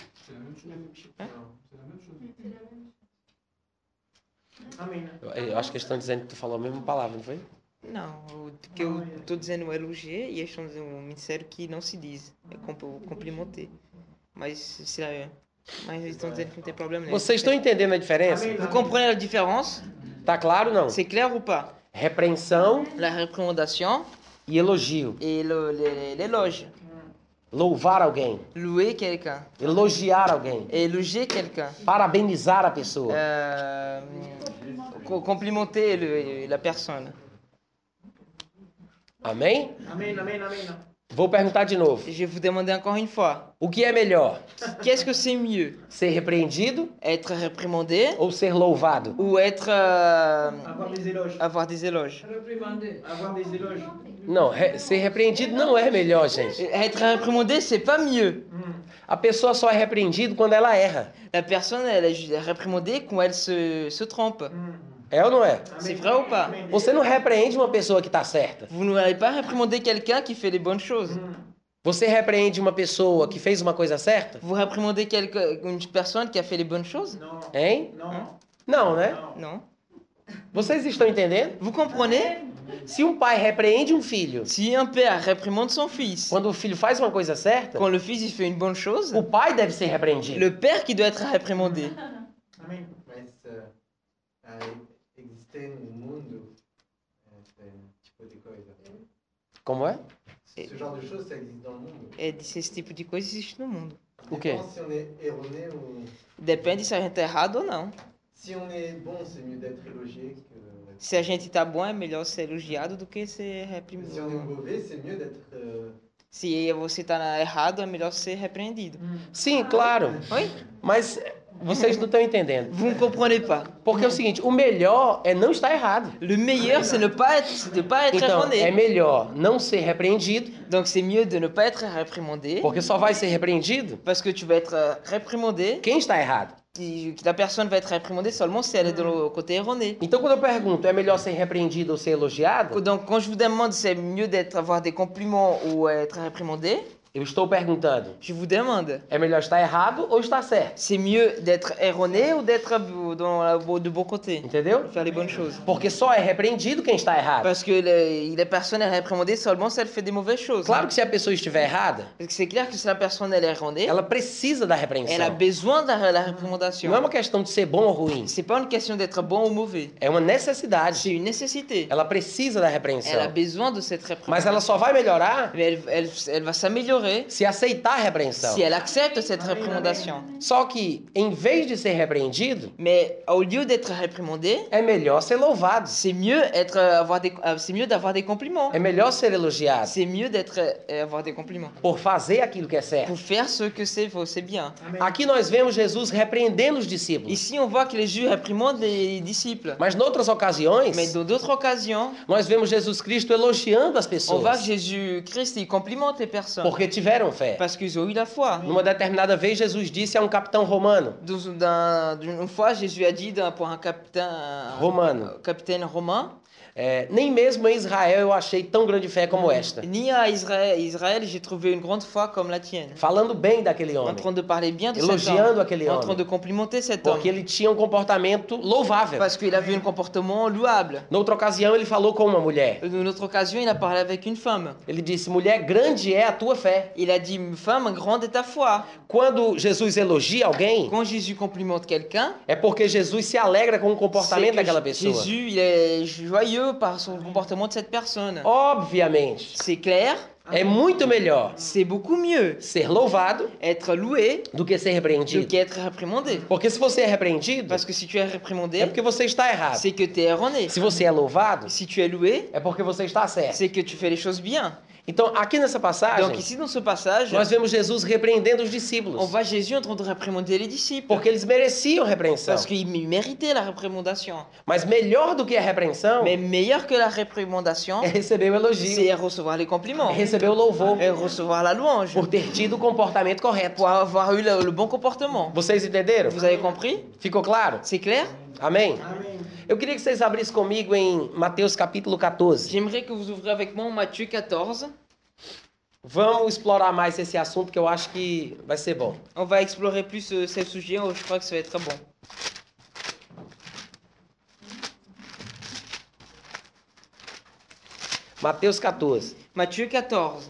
Amém. Eu eu acho que eles estão dizendo que tu falou a mesma palavra, não foi? Não, o que eu estou dizendo é elogier e eles estão dizendo um ministério que não se diz. É comp- complimenter. Mas, se é, mas eles estão dizendo que não tem problema nenhum. Vocês estão entendendo a diferença? Vous comprenez la différence? Tá claro ou não? C'est clair ou pas? Repreensão La réprimandation e elogio. et le- le- l'éloge. Louvar alguém. Louer quelqu'un. Elogiar alguém. Et éloger quelqu'un. Parabenizar a pessoa. Euh, co- complimenter le- la personne. Amém? Amém, amém, amém. Vou perguntar de novo. Je vais vous demander encore une fois. O que é melhor? Qu'est-ce que c'est mieux? Ser repreendido Être réprimandé ou ser louvado? ou être... euh, Avoir des éloges. avoir des éloges? Avoir des éloges. Não, re- ser repreendido não é melhor, gente. Être réprimandé, c'est pas mieux. A pessoa só é repreendida quando ela erra. La personne, elle est réprimandée quand elle se, se trompe. É ou não é? C'est vrai ou pas? Você não repreende uma pessoa que está certa. Vous n'allez pas réprimander quelqu'un qui fait les bonnes choses. Você repreende uma pessoa que fez uma coisa certa? Vous réprimandez quelque- une personne qui a fait les bonnes choses? Non. Hein? Non. Não, né? Non. Vocês estão entendendo? Vous comprenez? Se um pai repreende um filho Si un père réprimande son fils, quando o filho faz uma coisa certa, quand le fils il fait une bonne chose, o pai deve ser repreendido. le père qui doit être réprimandé. Amém. Mas uh, ah, existe no mundo esse tipo de coisa. Como é? Ce genre de choses, ça existe dans le monde. Et esse tipo de coisa existe no mundo. O quê? Dépend si on est erroné ou... Depende se a gente tá errado ou não. Si on est bon, c'est mieux d'être élogié que... Se a gente tá bom, é melhor ser elogiado do que ser Si on est reprimado. mauvais, c'est mieux d'être euh, Se você tá errado, é melhor ser repreendido. Sim, claro. Oi? Mas vocês não estão entendendo. Vous ne comprenez pas. Porque é o seguinte, o melhor é não estar errado. Le meilleur, c'est ne pas être, de pas être Então, erroné. é melhor não ser repreendido, Donc c'est mieux de ne pas être réprimandé, porque só vai ser repreendido parce que tu vas être euh, réprimandé. quem está errado. Et la personne va être réprimandée seulement si elle est de le côté erroné. Então, quando eu pergunto, é melhor ser repreendido ou ser elogiado? Donc quand je vous demande si c'est mieux d'être avoir des compliments ou être réprimandé, Eu estou perguntando, je vous demande, é melhor estar errado ou estar certo? c'est mieux d'être erroné ou d'être dans la, de bon côté, Entendeu? faire les bonnes choses. Porque só é repreendido quem está errado. Parce que les, les personnes est réprimandée seulement si elle fait des mauvaises choses. Claro que se a pessoa estiver errada, Parce que c'est clair que si la personne elle est erronée, ela precisa da elle a repreensão. besoin de la, la réprimandation. Não é uma questão de ser bom ou ruim, C'est pas une question d'être bon ou mauvais. é uma necessidade. C'est une nécessité. Ela precisa da Elle a repreensão. besoin de cette réprimandation. Mas ela só vai melhorar Mais elle, elle, elle va s'améliorer se aceitar a repreensão. si elle accepte cette réprimandation. Só que, em vez de ser repreendido, Mais au lieu d'être réprimandé, é melhor ser louvado. c'est mieux être euh, avoir des euh, c'est mieux d'avoir des compliments. É melhor ser elogiado C'est mieux d'être euh, avoir des compliments. por fazer aquilo que é certo. Pour faire ce que c'est c'est bien. Aqui nós vemos Jesus repreendendo os discípulos. Ici, on voit que les Juifs réprimandent les disciples. Mas, noutras ocasiões, Mais dans d'autres occasions, nós vemos Jesus Cristo elogiando as on voit que pessoas Jésus-Christ il complimente les personnes porque tiveram fé. parce qu'ils ont eu la foi. Numa determinada vez, Jesus disse a um capitão romano, Dans- dans- Une fois, Jésus a dit d'un- pour un capitaine, un romano, capitaine romain, é, nem mesmo em Israel eu achei tão grande fé como esta. ni à Israël, Israël j'ai trouvé une grande foi comme la tienne. Falando bem daquele En homem, train de parler bien de cet elogiando homme, aquele en train homem, de complimenter cet homme, porque ele tinha um comportamento louvável. parce qu'il avait un comportement louable. Noutra ocasião, ele falou com uma mulher. Une autre occasion, il a parlé avec une femme. Ele disse, mulher, grande é a tua fé. Il a dit, femme, grande est ta foi. Quando Jesus elogia alguém, Quand Jésus complimente quelqu'un, é porque Jesus se alegra com o c'est comportamento que daquela pessoa. Jésus il est joyeux par son comportement de cette personne. Obviamente, C'est clair, é muito melhor c'est beaucoup mieux ser louvado être loué do que ser do repreendido. qu'être réprimandé. Porque se você é repreendido, Parce que si tu es é réprimandé, porque você está errado. c'est que tu es erroné. Se você é louvado, Si tu es loué, é porque você está certo. c'est que tu fais les choses bien. Então, aqui nessa Donc passagem, ici dans ce passage, nós vemos Jesus repreendendo os on discípulos, voit Jésus en train de réprimander les disciples. porque eles mereciam repreensão. Parce qu'ils méritaient la réprimandation. Mas melhor do que a repreensão Mais meilleur que la réprimandation, é receber o elogio, c'est recevoir les compliments. é receber o louvor, Et recevoir la louange. por ter tido o comportamento correto. Pour avoir eu le, le bon comportement. Vocês entenderam? Vous avez compris? Ficou claro? C'est clair? Amém? Amém. Eu queria que vocês abrissem comigo em Mateus capítulo quatorze. J'aimerais que vous ouvriez avec moi Matthieu quatorze. Vamos explorar mais esse assunto que eu acho que vai ser bom. On va explorer plus euh, ce sujet, oh, je crois que ça va être très bon. Mateus quatorze. Matthieu quatorze.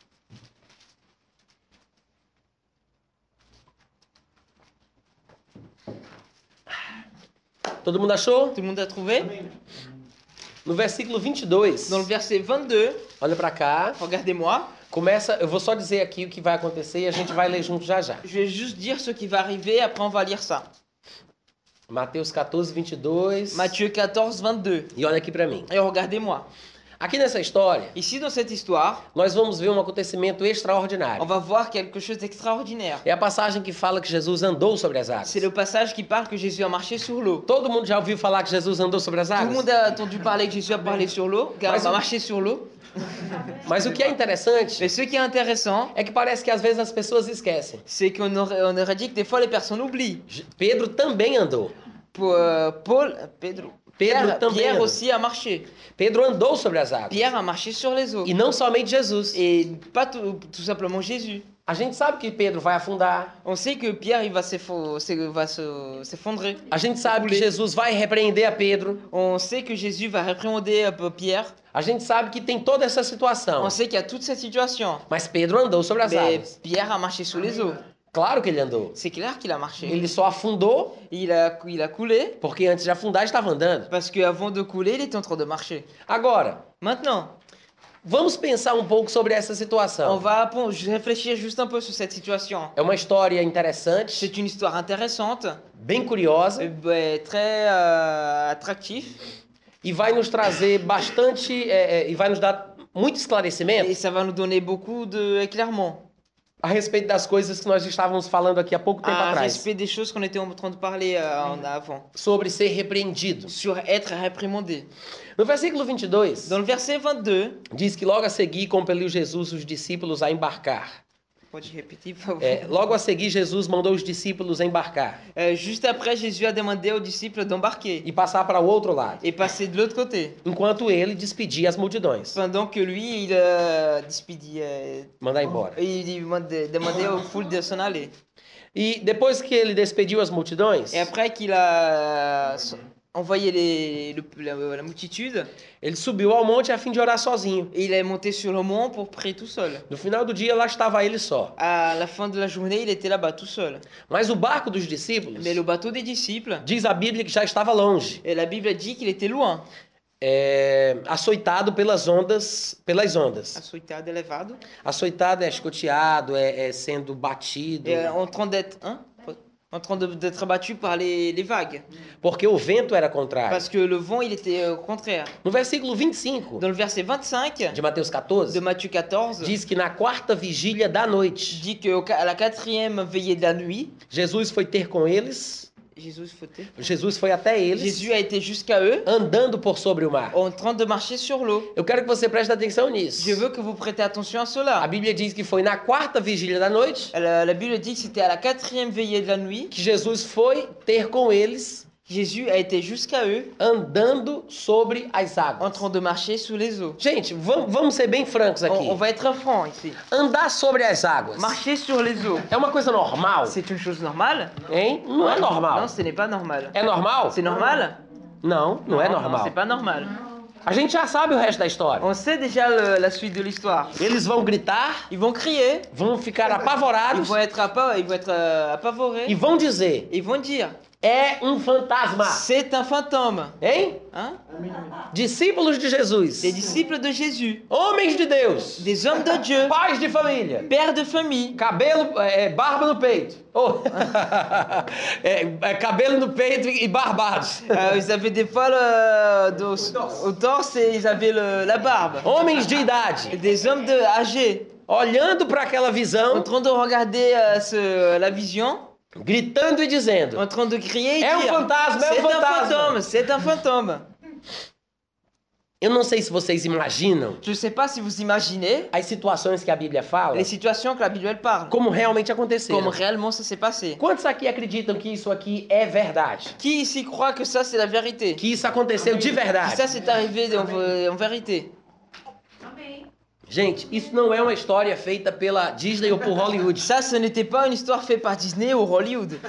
Todo mundo achou? Tout le monde a trouvé? Amém. No versículo vinte e dois, Dans le verset vingt-deux, olha pra cá, regardez-moi, começa, eu vou só dizer aqui o que vai acontecer e a gente vai ler junto já já. je vais juste dire ce qui va arriver, après on va lire ça. Mateus quatorze, vinte e dois. Matthieu quatorze, vingt-deux. E olha aqui pra mim. Et regardez-moi. Aqui nessa história, Ici, dans cette histoire, nós vamos ver um acontecimento on extraordinário. va voir quelque chose d'extraordinaire. É a passagem que fala que Jesus andou sobre as águas. C'est le passage qui parle que Jésus a marché sur l'eau. Todo mundo já ouviu falar que Jesus andou sobre as Tout le águas? monde a entendu parler que Jésus a parlé sur l'eau, car Mas il a o- marché sur l'eau. Mas o que é interessante Mais ce qui est intéressant, é que parece que às vezes as pessoas esquecem. c'est qu'on aurait, on aurait dit que des fois les personnes oublient. Je- Pedro também andou. Pour, euh, Paul, Pedro, Pedro Pierre, também Pierre andou. aussi a marché. Pedro andou sobre as águas. Pierre a marché sur les eaux. E não somente Jesus. Et pas tout, tout simplement Jésus. A gente sabe que Pedro vai afundar. On sait que Pierre il va s'effo- s'e- va se- s'effondrer. A gente sabe que Couler. Jesus vai repreender a Pedro. On sait que Jésus va réprimander un peu Pierre. A gente sabe que tem toda essa situação. On sait qu'il y a toute cette situation. Mas Pedro andou sobre as Mais águas. Pierre a marché sur les eaux. Claro que ele andou. C'est clair qu'il a marché. Ele só afundou Il a, il a coulé porque antes de afundar estava andando. parce qu'avant de couler, il était en train de marcher. Agora, Maintenant, vamos pensar um pouco sobre essa on situação. va appon- réfléchir juste un peu sur cette situation. É uma história interessante, C'est une histoire intéressante, bem curiosa, euh, bah, très euh, attractive, e vai nos trazer bastante, é, é, e vai nos dar muito esclarecimento Et ça va nous donner beaucoup d'éclairement a respeito das coisas que nós estávamos falando aqui há pouco tempo à atrás, respect des choses qu'on était en train de parler euh, en avant. sobre ser repreendido. Sur être réprimandé. No versículo vinte e dois, Dans le verset vingt-deux, diz que logo a seguir compeliu Jesus os discípulos a embarcar. pode repetir, por favor? É, logo a seguir, Jesus mandou os discípulos embarcar Euh, juste après, Jésus a demandé aux disciples d'embarquer e passar para o outro lado, et passer de l'autre côté. enquanto ele despedia as multidões, Pendant que lui, il euh, despedit, euh, mandar embora. il demandait, demandait aux foules de s'en aller. E depois que ele despediu as multidões, Et après qu'il a euh, envoyé les, le- la, la multitude, ele subiu ao monte a fim de orar sozinho. il est monté sur le mont pour prier tout seul. No final do dia, lá estava ele só. À la fin de la journée, il était là-bas tout seul. Mas o barco dos discípulos, Mais le bateau des disciples, diz a Bíblia que já estava longe, et la Bible dit qu'il était loin, é, açoitado pelas ondas, pelas ondas. açoitado, elevado, Açoitado é chicoteado, é, é sendo batido, et euh, en train d'être, hein, en train de- d'être battu par les, les vagues. porque o vento era contrário. Parce que le vent, il était euh, contraire. No versículo vinte e cinco Dans le verset vingt-cinq de Mateus quatorze, de Matthieu quatorze, diz que na quarta vigília da noite, dit qu'à la quatrième veillée de la nuit, Jesus foi ter com eles, Jésus, fauté. Jesus foi até eles, Jésus a été jusqu'à eux andando por sobre o mar. en train de marcher sur l'eau. Eu quero que você preste atenção nisso. Je veux que vous prêtez attention à A cela. Bíblia diz que foi na quarta vigília da noite La, la Bible dit que c'était à la quatrième veillée de la nuit. que Jesus foi ter com eles, Jésus a été jusqu'à eux andando sobre as en águas. train de marcher sous les eaux. Gente, vamos, vamos ser bem francos aqui. On, on va être franc ici. Andar sobre as águas Marcher sur les eaux, é uma coisa normal, c'est une chose normale? hein? Não é normal. Non, ce n'est pas normal. É normal? C'est normal? Não, não é Non, normal. c'est pas normal. A gente já sabe o resto da história. On sait déjà le- la suite de l'histoire. Eles vão gritar, Ils vont crier, vão ficar ils apavorados vont être, apa- ils vont être euh, apavorés, e vão dizer: ils vont dire é um fantasma. c'est un fantôme. Hein? Hein? Amém, amém. Discípulos de Jesus, Des disciples de Jésus, homens de Deus, des hommes de Dieu, pais de família, pères de famille, cabelo, é, barba no peito. Oh. é, é, cabelo no peito e barbados. Euh, ils avaient des poils euh, de- au torse et ils avaient le- la barbe. Homens de idade, Des hommes de, âgés, olhando para aquela en visão, train de regarder euh, ce- la vision, gritando e dizendo: en train de crier et É um dire fantasma, é um c'est un fantasma. fantôme, c'est un fantôme. Eu não sei se vocês imaginam Je ne sais pas si vous imaginez as situações que a Bíblia fala, les situations que la Bible elle parle, como realmente aconteceram. comme réellement ça s'est passé. Quantos aqui acreditam que isso aqui é verdade? Qui ici croit que ça c'est la vérité? Que isso aconteceu de Que verdade? ça c'est arrivé en, en vérité? Gente, isso não é uma história feita pela Disney ou por Hollywood. Ça, ce n'était pas une histoire faite par Disney ou Hollywood.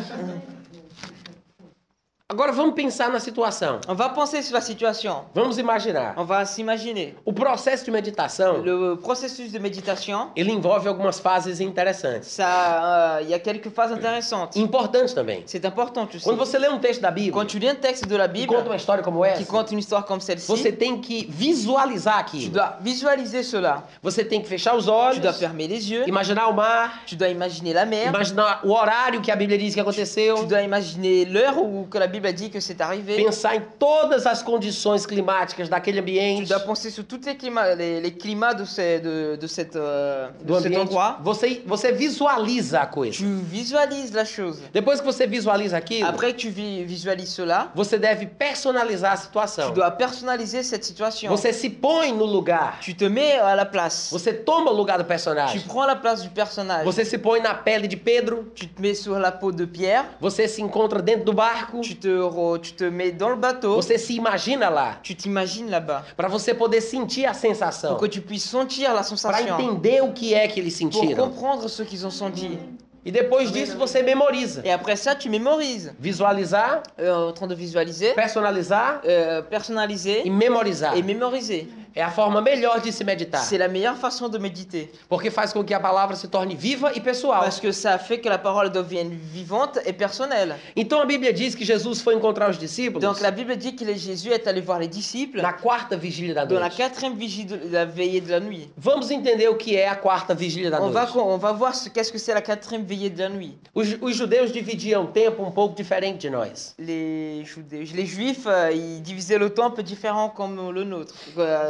Agora vamos pensar na situação. On va penser sur la situation. Vamos imaginar. On va s'imaginer. O processo de meditação, Le processus de méditation, ele envolve algumas fases interessantes. ça, euh, il y a quelques phases intéressantes. Importantes também. C'est important, tu sais. Quando você lê um texto da Bíblia Quand tu lis un texte de la e Bible conta uma história como qui essa, conte une histoire comme celle-ci, você tem que visualizar tu aquilo. dois visualiser cela. Você tem que fechar os Tu olhos, dois fermer les yeux. imaginar o mar, Tu dois imaginer la mer. imaginar o horário que a Bíblia diz que Tu aconteceu, dois imaginer l'heure où que la Bible a dit que c'est arrivé. pensar em todas as condições climáticas daquele Tu ambiente, dois penser sur tous les climats, les, les climats de, ce- de, de, cette, euh, do de cet ambiente. endroit. Você, você visualiza a coisa. Tu visualises la chose. Depois que você visualiza aquilo, Après que tu vi- visualises cela, você deve personalizar a tu situação. dois personnaliser cette situation. Você se põe no lugar. Tu te mets à la place. Você toma o lugar do Tu personagem. prends la place du personnage. Você se põe na pele de Pedro. Tu te mets sur la peau de Pierre. Você se encontra dentro do barco. Tu te, re- tu te mets dans le bateau. Você se imagina lá. Tu t'imagines là-bas. Para você poder sentir a sensação. Pour que tu puisses sentir la Para sensation. entender o que é que eles Pour sentiram. comprendre ce qu'ils ont senti. E depois disso você memoriza. Et après ça, tu mémorises. Visualizar, Euh, en train de visualiser, personalizar euh, personnaliser e memorizar. et mémoriser. É a forma melhor de se meditar. C'est la meilleure façon de méditer. Porque faz com que a palavra se torne viva e pessoal. Parce que ça fait que la parole devienne vivante et personnelle. Então a Bíblia diz que Jesus foi encontrar os discípulos Donc la Bible dit que les- Jésus est allé voir les disciples na quarta vigília da dans la noite. quatrième vigie de la veillée de la nuit. Vamos entender o que é a quarta vigília da On va, noite. on va voir ce qu'est-ce que c'est la quatrième veillée de la nuit. Os, os judeus dividiam o tempo um pouco diferente de nós. Les, Judé- les Juifs, euh, ils divisaient le temps un peu différent comme le nôtre, euh,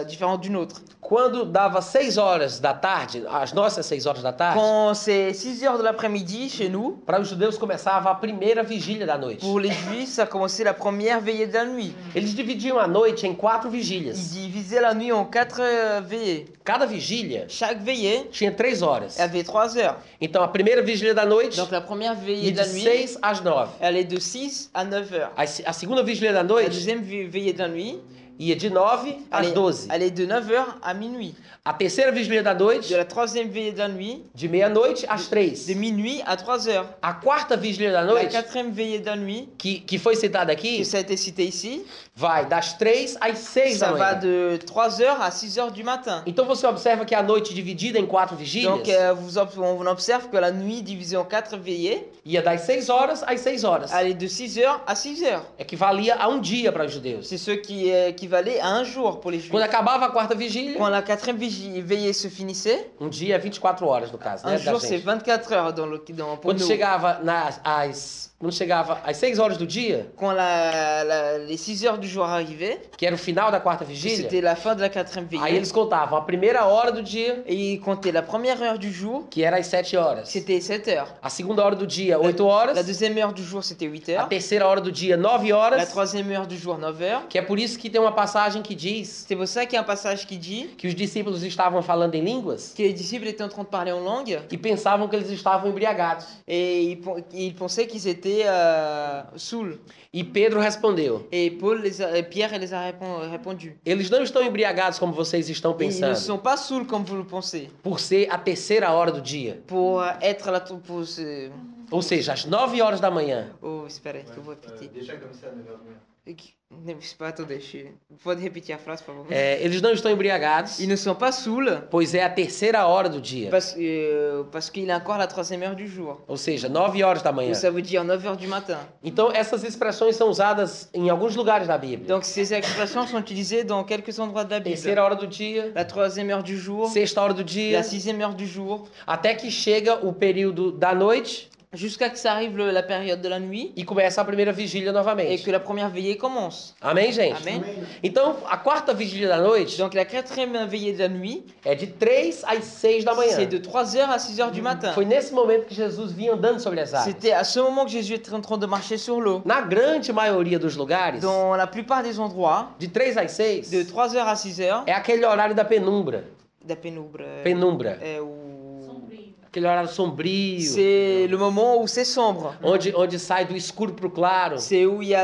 différent d'une autre. Quando dava seis horas da tarde, as nossas seis horas da tarde, Quand c'est six heures de l'après-midi chez nous, para os judeus começava a primeira vigília da noite. pour les juifs, ça commençait la première veillée de la nuit. Eles dividiam a noite em quatro Ils vigílias. divisaient la nuit en quatre euh, veillées. Cada vigília Chaque veillée tinha três horas. avait trois heures. Então a primeira vigília da noite Donc la première veillée ia de de la nuit, seis às nove. elle est de six à neuf heures. A, a segunda vigília da La noite deuxième ve- veillée de la nuit, ia de nove elle às est, doze. elle est de neuf heures à minuit. A terceira vigília da noite, De la troisième veillée de la nuit, de meia-noite às três. de minuit à trois heures. A quarta vigília da La noite, quatrième veillée de la nuit, que, que foi citada aqui, que ça a été cité ici, vai das três às seis da ça va manhã. de trois heures à six heures du matin. Então você observa que a noite dividida em quatro vigílias Donc euh, vous ob- on observe que la nuit divisée en quatre veillées, ia das seis horas às seis horas. elle est de six heures à six heures. Equivalia a um dia para os judeus. C'est ce qui euh, équivalait à un jour pour les juifs. Quando acabava a quarta vigília, Quand la quatrième vigi- veillée se finissait, um dia é vinte e quatro horas no caso, un né, da jour c'est gente. vingt-quatre heures dans le, dans, pour Quando nous. chegava nas às quando chegava às seis horas do dia, Quand la, la- les six heures du jour arrivaient, que era o final da quarta que vigília, c'était la fin de la quatrième aí veillée, eles contavam a primeira hora do dia, et ils comptaient la première heure du jour, que era às sete horas. c'était sept heures. A segunda hora do dia, oito horas. La deuxième heure du jour, c'était huit A heures. terceira hora do dia, nove La horas. troisième heure du jour, neuf heures. Que é por isso que tem uma passagem que diz C'est pour ça qu'il y a un passage qui dit que os discípulos estavam falando em línguas que les disciples étaient en train de parler en langue e pensavam que eles estavam embriagados. et ils, pen- ils pensaient qu'ils étaient euh, saouls. E Pedro respondeu: Et Paul les a- et Pierre les a répon- répondu. eles não estão embriagados como vocês estão Ils ne pensando, sont pas saouls comme vous le pensez. por ser a terceira hora do dia. Pour être là, pour se... Ou seja, às nove horas da manhã. Oh, espera, que eu vou Euh, repetir. déjà comme ça, neuf heures du matin. Et que- Ne, c'est pas, attendez, je... Pode repetir a phrase, por favor. É, eles não estão embriagados, Ils ne sont pas saouls pois é a terceira hora do dia. parce, euh, parce qu'il est encore la troisième heure du jour. Ou seja, nove horas da manhã. Donc ça veut dire neuf heures du matin. Então, essas expressões são usadas em alguns lugares da Bíblia. Donc ces expressions sont utilisées dans quelques endroits de la Bible. Terceira hora do dia, La troisième heure du jour, sexta hora do dia, la sixième heure du jour, até que chega o período da noite jusqu'à que ça arrive le- la période de la nuit e começa a primeira vigília et novamente. que la première veillée commence. Amém, gente? Amen. Amen. Então, a quarta vigília da noite Donc la quatrième veillée de la nuit, é de três às seis da manhã. c'est de trois heures à six heures du matin. Foi nesse momento que Jesus vinha andando sobre as águas. C'était à ce moment que Jésus était en train de marcher sur l'eau. Na grande maioria dos lugares, Dans la plupart des endroits, de três às seis, de trois heures à six heures, é aquele horário da penumbra. la pénombre, euh, Penumbra. euh, où- Aquele horário sombrio, c'est le moment où c'est sombre. onde, onde sai do escuro pro claro. C'est où il y a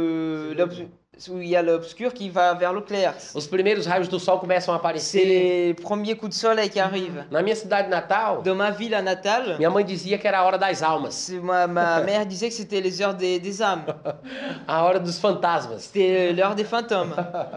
le l'obs- où il y a l'obscur qui va vers le clair. Os primeiros raios do sol começam a C'est aparecer. les premiers coups de soleil qui arrivent. Na minha cidade natal, Dans ma ville natale, minha mãe dizia que era a hora das almas, c'est- ma, ma mère disait que c'était les heures des, des âmes. a hora dos fantasmas. C'était l'heure des fantômes.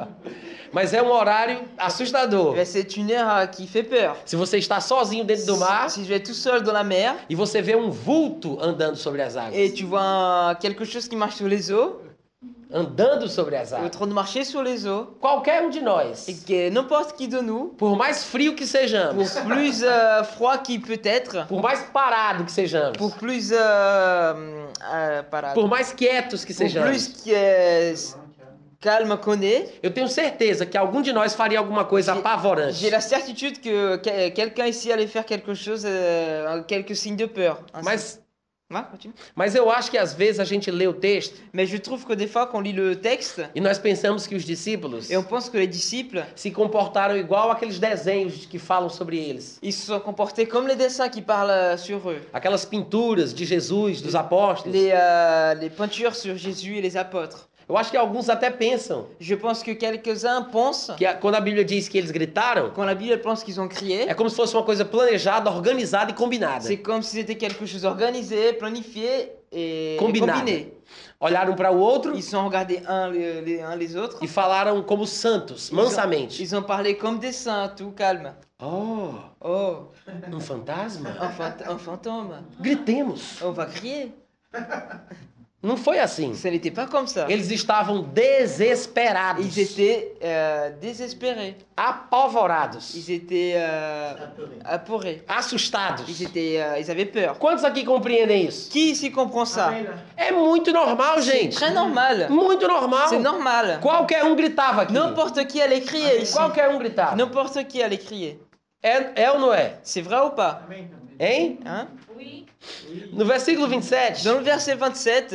Mas é um horário assustador. Mais c'est une heure euh, qui fait peur. Se você está sozinho dentro do mar Si je vais tout seul dans la mer e você vê um vulto andando sobre as et águas, tu vois un- quelque chose qui marche sur les eaux, andando sobre as en águas, train de marcher sur les eaux, qualquer um de nós, et que n'importe qui de nous, por mais frio que pour sejamos, plus euh, froid qu'il peut être, por mais parado que sejamos, pour plus euh, euh, parade, por mais quietos que pour sejamos, plus que, euh, calme qu'on est, eu tenho certeza que algum de nós faria alguma coisa J'ai- apavorante. j'ai la certitude que que- quelqu'un ici allait faire quelque chose, euh, quelques signes de peur. Ainsi. Mas, Ouais, continue. mas eu acho que às vezes a gente lê o texto Mais je trouve que des fois, quand on lit le texte, e nós pensamos que os discípulos et on pense que les disciples, se comportaram igual aqueles desenhos que falam sobre eles. ils se sont comportés comme les dessins qui parlent euh, sur eux. Aquelas pinturas de Jesus, dos apóstolos. Les, euh, les peintures sur Jésus et les apôtres. Eu acho que alguns até pensam Je pense que quelques-uns pensent, que a- quando a Bíblia diz que eles gritaram, quand la Bible pense qu'ils ont crié, é como se fosse uma coisa planejada, organizada e combinada. c'est comme si c'était quelque chose organisé, planifié et, et Combinado. combiné. Olharam para o outro Ils se sont regardés un les, les, uns les autres. e falaram como santos, Ils ont, mansamente. ils ont parlé comme des saints, tout calme. Oh, Oh, um fantasma? un, phant- un fantôme. Gritemos. On va crier. Não foi assim. Ça n'était pas comme ça. Eles estavam desesperados, Ils étaient euh, désespérés. apavorados, Ils étaient euh, Apeuré. apeurés. assustados. Ils, étaient, euh, ils avaient peur. Quantos aqui compreendem isso? Qui ici comprend ça? Amen. É muito normal, C'est gente. très normal. Muito normal. C'est normal. Qualquer um gritava aqui. N'importe qui allait crier ici. Qualquer um gritava. N'importe qui allait crier. É, é ou não é? C'est vrai ou pas? Amen. Hein? Hein? Oui. No versículo vinte e sete, Dans le verset vingt-sept,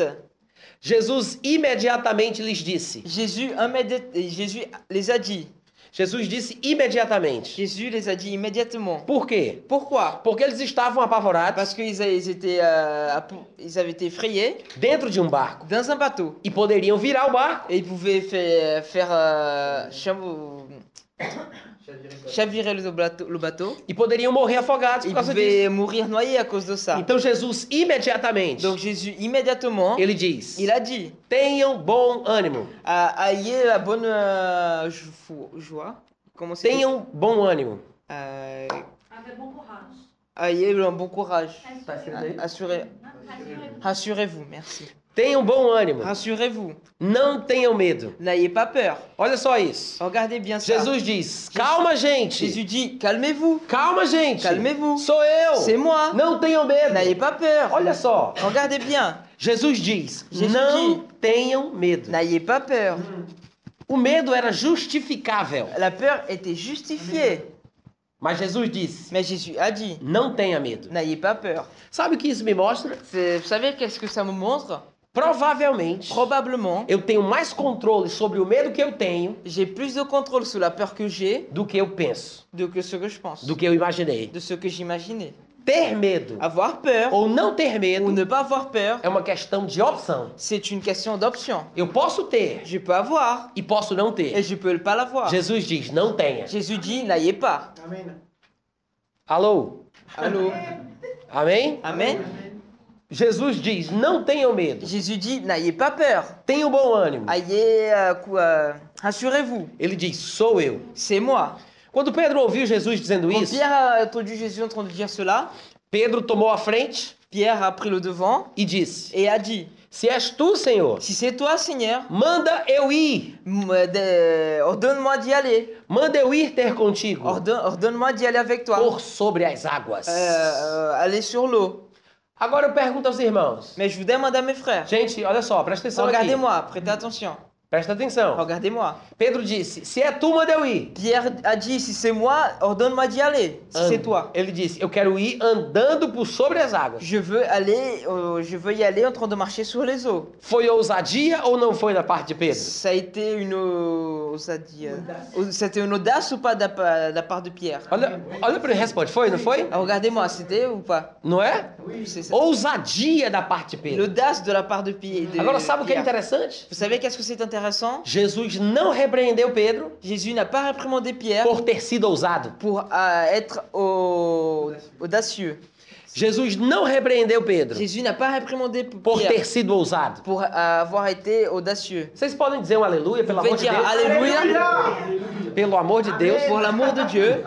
Jesus imediatamente lhes disse. Jésus, immédiat- Jésus les a dit. Jesus disse imediatamente. Jésus les a dit immédiatement. Por quê? Pourquoi? Porque eles estavam apavorados Parce qu'ils a- ils étaient, euh, app- ils avaient été effrayés dentro de um barco dans un bateau. e poderiam virar o barco. Et ils pouvaient faire, faire euh, chav- Chavirer. chavirer le bateau, le bateau. E poderiam morrer afogados por Ils causa disso. pouvaient mourir noyés à cause de ça. Então Jesus imediatamente, Donc Jésus, immédiatement, ele diz, il a dit, tenham bom ânimo. ah, ayez la bonne euh, jo- joie. Comment c'est? Tenham bom ânimo. Euh, Avec bon courage. ayez un bon courage. Tá escrito aí? Assurez, Rassurez-vous. rassurez-vous, merci. Tenham bom ânimo. Rassurez-vous. Não tenham medo. N'ayez pas peur. Olha só isso. Regardez bien ça. Jesus diz, calma, gente. Jésus dit, calmez-vous. Calma, gente. Calmez-vous. Sou eu. C'est moi. Não tenham medo. N'ayez pas peur. Olha só. Regardez bien. Jesus diz, Jesus não diz. tenham medo. N'ayez pas peur. O medo era justificável. La peur était justifiée. Mas Jesus disse, Mais Jésus a dit, não tenha medo. n'ayez pas peur. Sabe o que isso me mostra? C'est- Vous savez qu'est-ce que ça me montre? Provavelmente, Probablement, eu tenho mais controle sobre o medo que eu tenho j'ai plus de contrôle sur la peur que j'ai do que eu penso, de que ce que je pense, do que eu imaginei. de ce que j'imaginais. Ter medo Avoir peur ou não ter ou medo ne pas avoir peur, é uma questão de opção. c'est une question d'option. Eu posso ter Je peux avoir e posso não et ter. je peux pas l'avoir. Jesus diz, não tenha. Jésus dit, n'ayez pas. Amen. Alô? Allô? Amém? Amen. Jesus diz, não tenham medo. Jésus dit, n'ayez pas peur. Tenham bom ânimo. Ayez, euh, quoi, rassurez-vous, Ele diz, sou eu. c'est moi. Quando Pedro ouviu Jesus dizendo Quand isso, Pierre a entendu Jésus en train de dire cela, Pedro tomou a frente Pierre a pris le devant e disse, et a dit, se és tu, Senhor, si c'est toi, Seigneur, manda eu ir. m- de- ordonne-moi d'y aller. Manda eu ir ter contigo Ordonne- Ordonne-moi d'y aller avec toi. por sobre as águas. Euh, euh, aller sur l'eau. Agora eu pergunto aos irmãos. Mais je vous demande à mes frères, Gente, olha só, presta atenção aqui. regardez-moi, prêtez attention. Presta atenção. Regardez-moi. Pedro disse, se é tu, manda eu ir. Pierre a dit, si c'est moi, ordonne-moi d'y aller. Si c'est Ande. toi. Ele disse, eu quero ir andando por sobre as águas. Je veux aller, euh, je veux y aller en train de marcher sur les eaux. Foi ousadia ou não foi da parte de Pedro? Ça a été une, euh, ça dit, euh, c'était une audace ou pas de la, pa- de la part de Pierre? Olha, olha para ele, responde. Foi, não foi? Ah, regardez-moi, c'était ou pas? Não é? C'est ça. Ousadia da parte de Pedro. L'audace de la part de, Pi- de Agora, sabe o que é Pierre. interessante? Vous savez qu'est-ce que c'est intéressant? Jesus não repreendeu Pedro Jésus n'a pas réprimandé Pierre por ter sido ousado. pour euh, être au- audacieux. Jesus não repreendeu Pedro Jésus n'a pas réprimandé por Pierre ter sido ousado. pour euh, avoir été audacieux. Vocês podem dizer um aleluia, pelo Vous amor pouvez de dire Deus? Alléluia Pelo amor de Deus. pour l'amour de Dieu.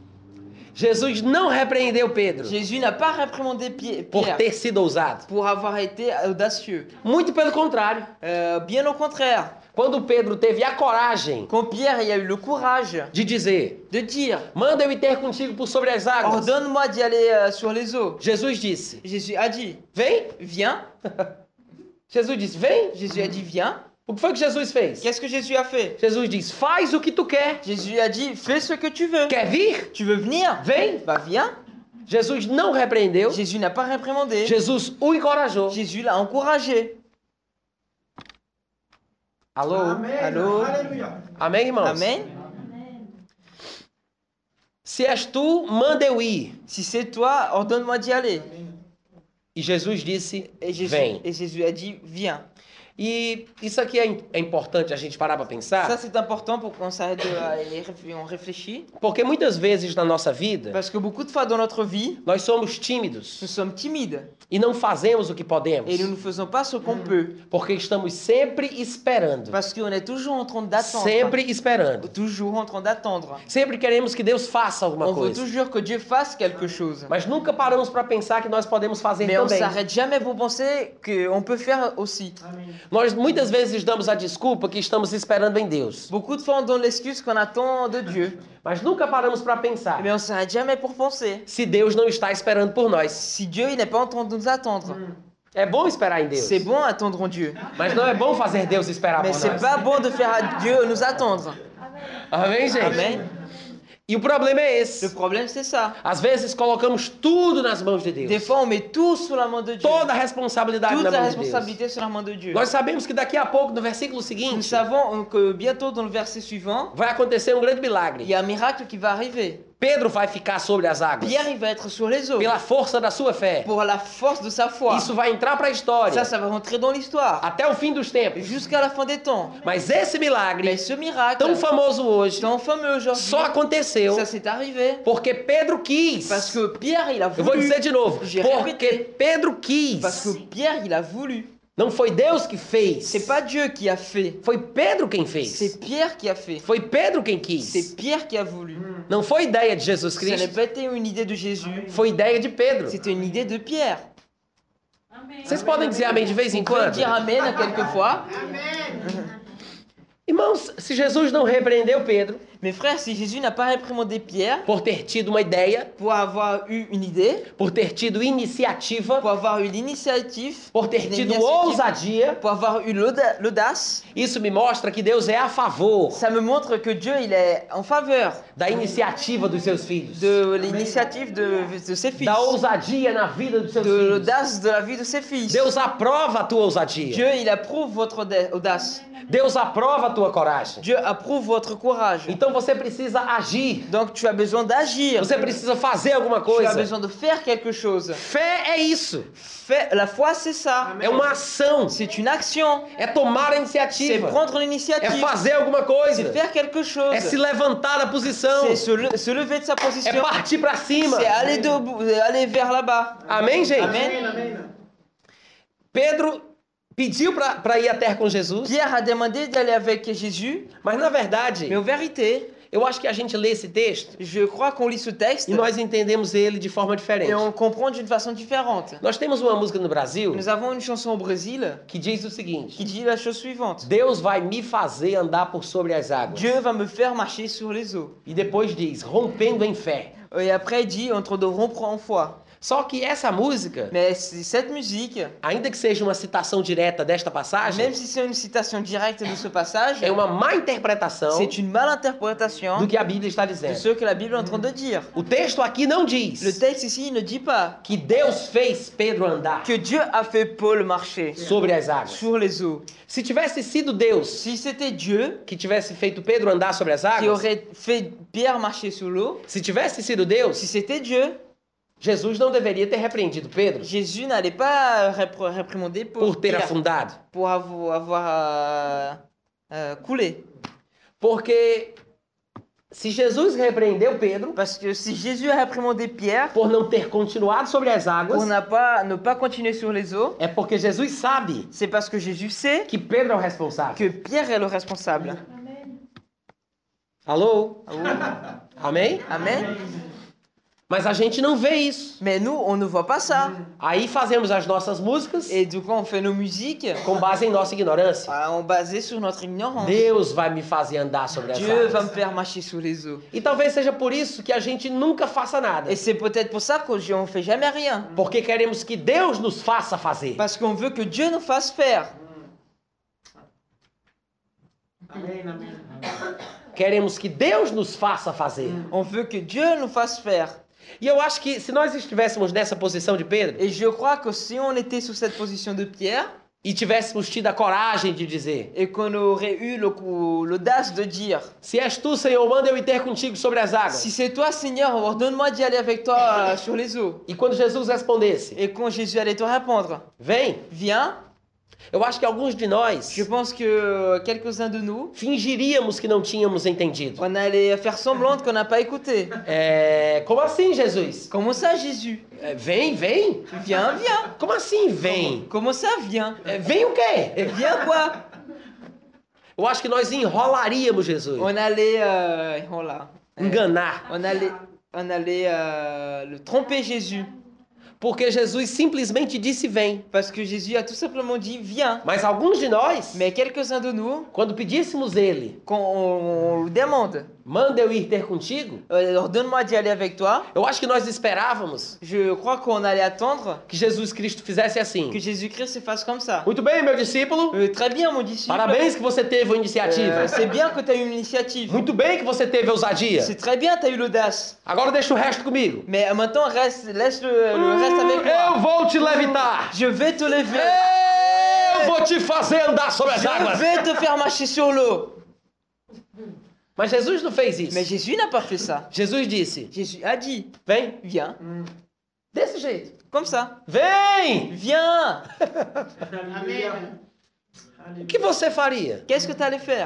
Jesus não repreendeu Pedro Jésus n'a pas réprimandé Pi- por Pierre ter sido ousado. pour avoir été audacieux. Muito pelo contrário. Euh, bien au contraire, Quando Pedro teve a coragem quand Pierre il a eu le courage de dizer, de dire manda eu ir ter contigo por sobre as águas, ordonne-moi d'y aller euh, sur les eaux, Jesus disse, Jésus a dit vem. viens. Jesus disse, vem. Jésus a dit viens. O que foi que Jesus fez? Qu'est-ce que Jésus a fait? Jesus diz, faz o que tu quer. Jésus a dit fais ce que tu veux. Quer vir? Tu veux venir? Vem. Bah viens. Jesus não repreendeu. Jésus n'a pas réprimandé. Jesus o encorajou. Jésus l'a encouragé. Alô? Amen. Allô? Alléluia. Amém, irmãos? Amen. Se és tu, manda eu ir. Si c'est toi, ordonne-moi d'y aller. E Jesus disse, Et Jésus, vem. et Jésus a dit viens. E isso aqui é, im- é importante a gente parar para Ça, pensar, c'est important pour qu'on s'arrête de et réfl- on réfléchit. porque muitas vezes na nossa vida Parce que beaucoup de fois dans notre vie, nós somos nous tímidos sommes timides e não fazemos o que podemos, et nous ne faisons pas ce qu'on peut. porque estamos sempre esperando, Parce qu'on est toujours en train d'attendre. sempre esperando. Toujours en train d'attendre. Sempre queremos que Deus faça alguma On veut coisa, toujours que Dieu fasse quelque chose. mas nunca paramos para pensar que nós podemos fazer Mais on ne também. s'arrête jamais pour penser qu'on peut faire aussi. Amen. Nós muitas vezes damos a desculpa que estamos esperando em Deus, Beaucoup de fois, on donne l'excuse qu'on attend de Dieu. mas nunca paramos para pensar Mais on ne s'arrête jamais pour penser. se Deus não está esperando por nós. Si Dieu il n'est pas en train de nous attendre. É bom esperar em Deus, C'est bon attendre en Dieu. mas não é bom fazer Deus esperar Mais por c'est nós. pas bon de faire à Dieu nous attendre. Amém, gente? Amen. E o problema é Le esse. problème, c'est ça. Às vezes colocamos tudo nas mãos de Des Deus. fois, on met tout sous la main de Dieu. Toda a responsabilidade Toute na la mão de Deus. responsabilité sur la main de Dieu. Nós sabemos que daqui a pouco, no versículo Nous seguinte, savons que bientôt, dans le verset suivant, vai acontecer um grande il milagre. y a un miracle qui va arriver. Pedro vai ficar sobre as águas Pierre, il va être sur les eaux. pela força da sua fé. Pour la force de sa foi. Isso vai entrar para a história Ça, ça va rentrer dans l'histoire. até o fim dos tempos. Jusqu'à la fin des temps. Mas esse milagre, Mais ce miracle, tão famoso hoje, tant fameux aujourd'hui, só aconteceu ça s'est arrivé porque Pedro quis. parce que Pierre, il a Eu vou voulu. dizer de novo. J'ai Porque répété. Pedro quis. Parce que Pierre, il a voulu. Não foi Deus que fez. C'est pas Dieu qui a fait. Foi Pedro quem fez. C'est Pierre qui a fait. Foi Pedro quem quis. C'est Pierre qui a voulu. Não foi ideia de Jesus Ça n'a Cristo. pas été une idée de Jésus. Foi ideia de Pedro. C'était une idée de Pierre. Amém. Vocês podem dizer amém de vez em On peut quando? dire Amen à quelquefois. Irmãos, se Jesus não repreendeu Pedro Mais frère, si Jésus n'a pas réprimandé Pierre por ter tido uma ideia, pour avoir eu une idée, por ter tido iniciativa, pour avoir eu l'initiative, por ter une tido initiative, ousadia, pour avoir eu l'auda- l'audace, isso me mostra que Deus é a favor ça me montre que Dieu il est en faveur da iniciativa dos seus filhos, de l'initiative de, de ses fils, da ousadia na vida dos seus de filhos. l'audace de la vie de ses fils. Deus aprova a tua ousadia. Dieu il approuve votre auda- audace. Deus aprova a tua coragem. Dieu approuve votre courage. Então você precisa agir. Donc tu as besoin d'agir. Você precisa fazer alguma Tu as coisa. besoin de faire quelque chose. Fé é isso. Fais- la foi c'est ça. É uma ação. C'est une action. É tomar a C'est iniciativa. prendre É l'initiative. fazer alguma C'est coisa. faire quelque chose. É se levantar da posição. C'est se, le- se lever de sa É position. partir pra cima. C'est aller, debout- aller vers là-bas. Amém, gente? Amém. Amen, amen. Pedro pediu para ir à terra com Jesus, Pierre a demandé d'aller avec Jésus, mas na verdade, mais en vérité, eu acho que a gente lê esse texto je crois qu'on lit ce texte e nós entendemos ele de forma diferente. et on le comprend d'une façon différente. Nós temos uma música no Brasil Nous avons une chanson au Brésil que diz o seguinte: qui dit la chose suivante. Deus vai me fazer andar por sobre as águas. Dieu va me faire marcher sur les eaux. E depois diz, rompendo em fé. Et après, il dit entre de rompre en foi. Só que essa música, Mais c'est- cette musique, ainda que seja uma citação direta desta passagem, même si c'est une citation directe de ce passage, é uma má interpretação c'est une malinterprétation do que a Bíblia está de dizendo. ce que la Bible est en train de dire. O texto aqui não Le diz texte ici il ne dit pas que Deus fez Pedro andar que Dieu a fait Paul marcher sobre as águas. sur les eaux. Se tivesse sido Deus Si c'était Dieu que tivesse feito Pedro andar sobre as qui águas, aurait fait Pierre marcher sur l'eau, se tivesse sido Deus, si c'était Dieu, Jesus não deveria ter repreendido Pedro Jésus n'allait pas répr- réprimander pour, por ter Pierre, afundado. pour avoir, avoir euh, euh, coulé. Porque se Jesus repreendeu Pedro Parce que si Jésus a réprimandé Pierre por não ter continuado sobre as pour águas, n'a pas, ne pas continuer sur les eaux, é porque Jesus sabe c'est parce que Jésus sait que Pedro é o responsável. que Pierre est le responsable. Alô? Amém? Amen. Mas a gente não vê isso. Mais nous, on ne voit pas ça. Aí fazemos as nossas músicas Et du coup, on fait nos musiques com base em nossa ignorância. euh, on basé sur notre ignorance. Deus vai me fazer andar sobre as Dieu va me águas. faire marcher sur les eaux. E talvez seja por isso que a gente nunca faça nada. Et c'est peut-être pour ça qu'on ne fait jamais rien. Porque queremos que Deus nos faça fazer. Parce qu'on veut que Dieu nous fasse faire. Amen, amen. Queremos que Deus nos faça fazer. On veut que Dieu nous fasse faire. E eu acho que se nós estivéssemos nessa posição de Pedro Et je crois que si on était sur cette position de Pierre e tivéssemos tido a coragem de dizer: et qu'on aurait eu le- l'audace de dire Se és tu, Senhor, manda eu ir ter contigo sobre as águas. si c'est toi Seigneur, ordonne-moi d'y aller avec toi euh, sur les eaux. E quando Jesus respondesse: Et quand Jésus allait te répondre, Vem, viens, Eu acho que alguns de nós Je pense que quelques-uns de nous, fingiríamos que não tínhamos entendido. on allait faire semblant qu'on n'a pas écouté. É, como assim, Jesus? Comment ça, Jésus? É, vem, vem. Viens, viens. Como assim, vem? Comment ça, viens? É, vem o quê? Viens quoi? Eu acho que nós enrolaríamos Jesus. On allait, euh, oh là, Enganar. on allait, on allait euh, le tromper Jésus. Porque Jesus simplesmente disse vem. Parce que Jésus a tout simplement dit viens. Mas alguns de nós, Mais quelques-uns de nous, quando pedíssemos ele, quand on, on le demande, manda eu ir ter contigo, euh, ordonne-moi d'y aller avec toi, eu acho que nós esperávamos je crois qu'on allait attendre que Jesus Cristo fizesse assim. que Jésus-Christ se fasse comme ça. Muito bem, meu discípulo. Euh, très bien, mon disciple. Parabéns que você teve a iniciativa. Euh, c'est bien que tu as eu une initiative. Muito bem que você teve a ousadia. C'est très bien, tu as eu l'audace. Agora deixa o resto comigo. Mais euh, maintenant, reste, laisse le, le reste avec Eu moi. vou te levitar. Je vais te lever. Eu vou te fazer andar sobre as Je águas. vais te faire marcher sur l'eau. Mas Jesus não fez isso. Mais Jésus n'a pas fait ça. Jesus disse: Jésus a dit, vem, viens, desse jeito. comme ça. Vem! Viens. Amen. O que você faria? Qu'est-ce que tu allais faire?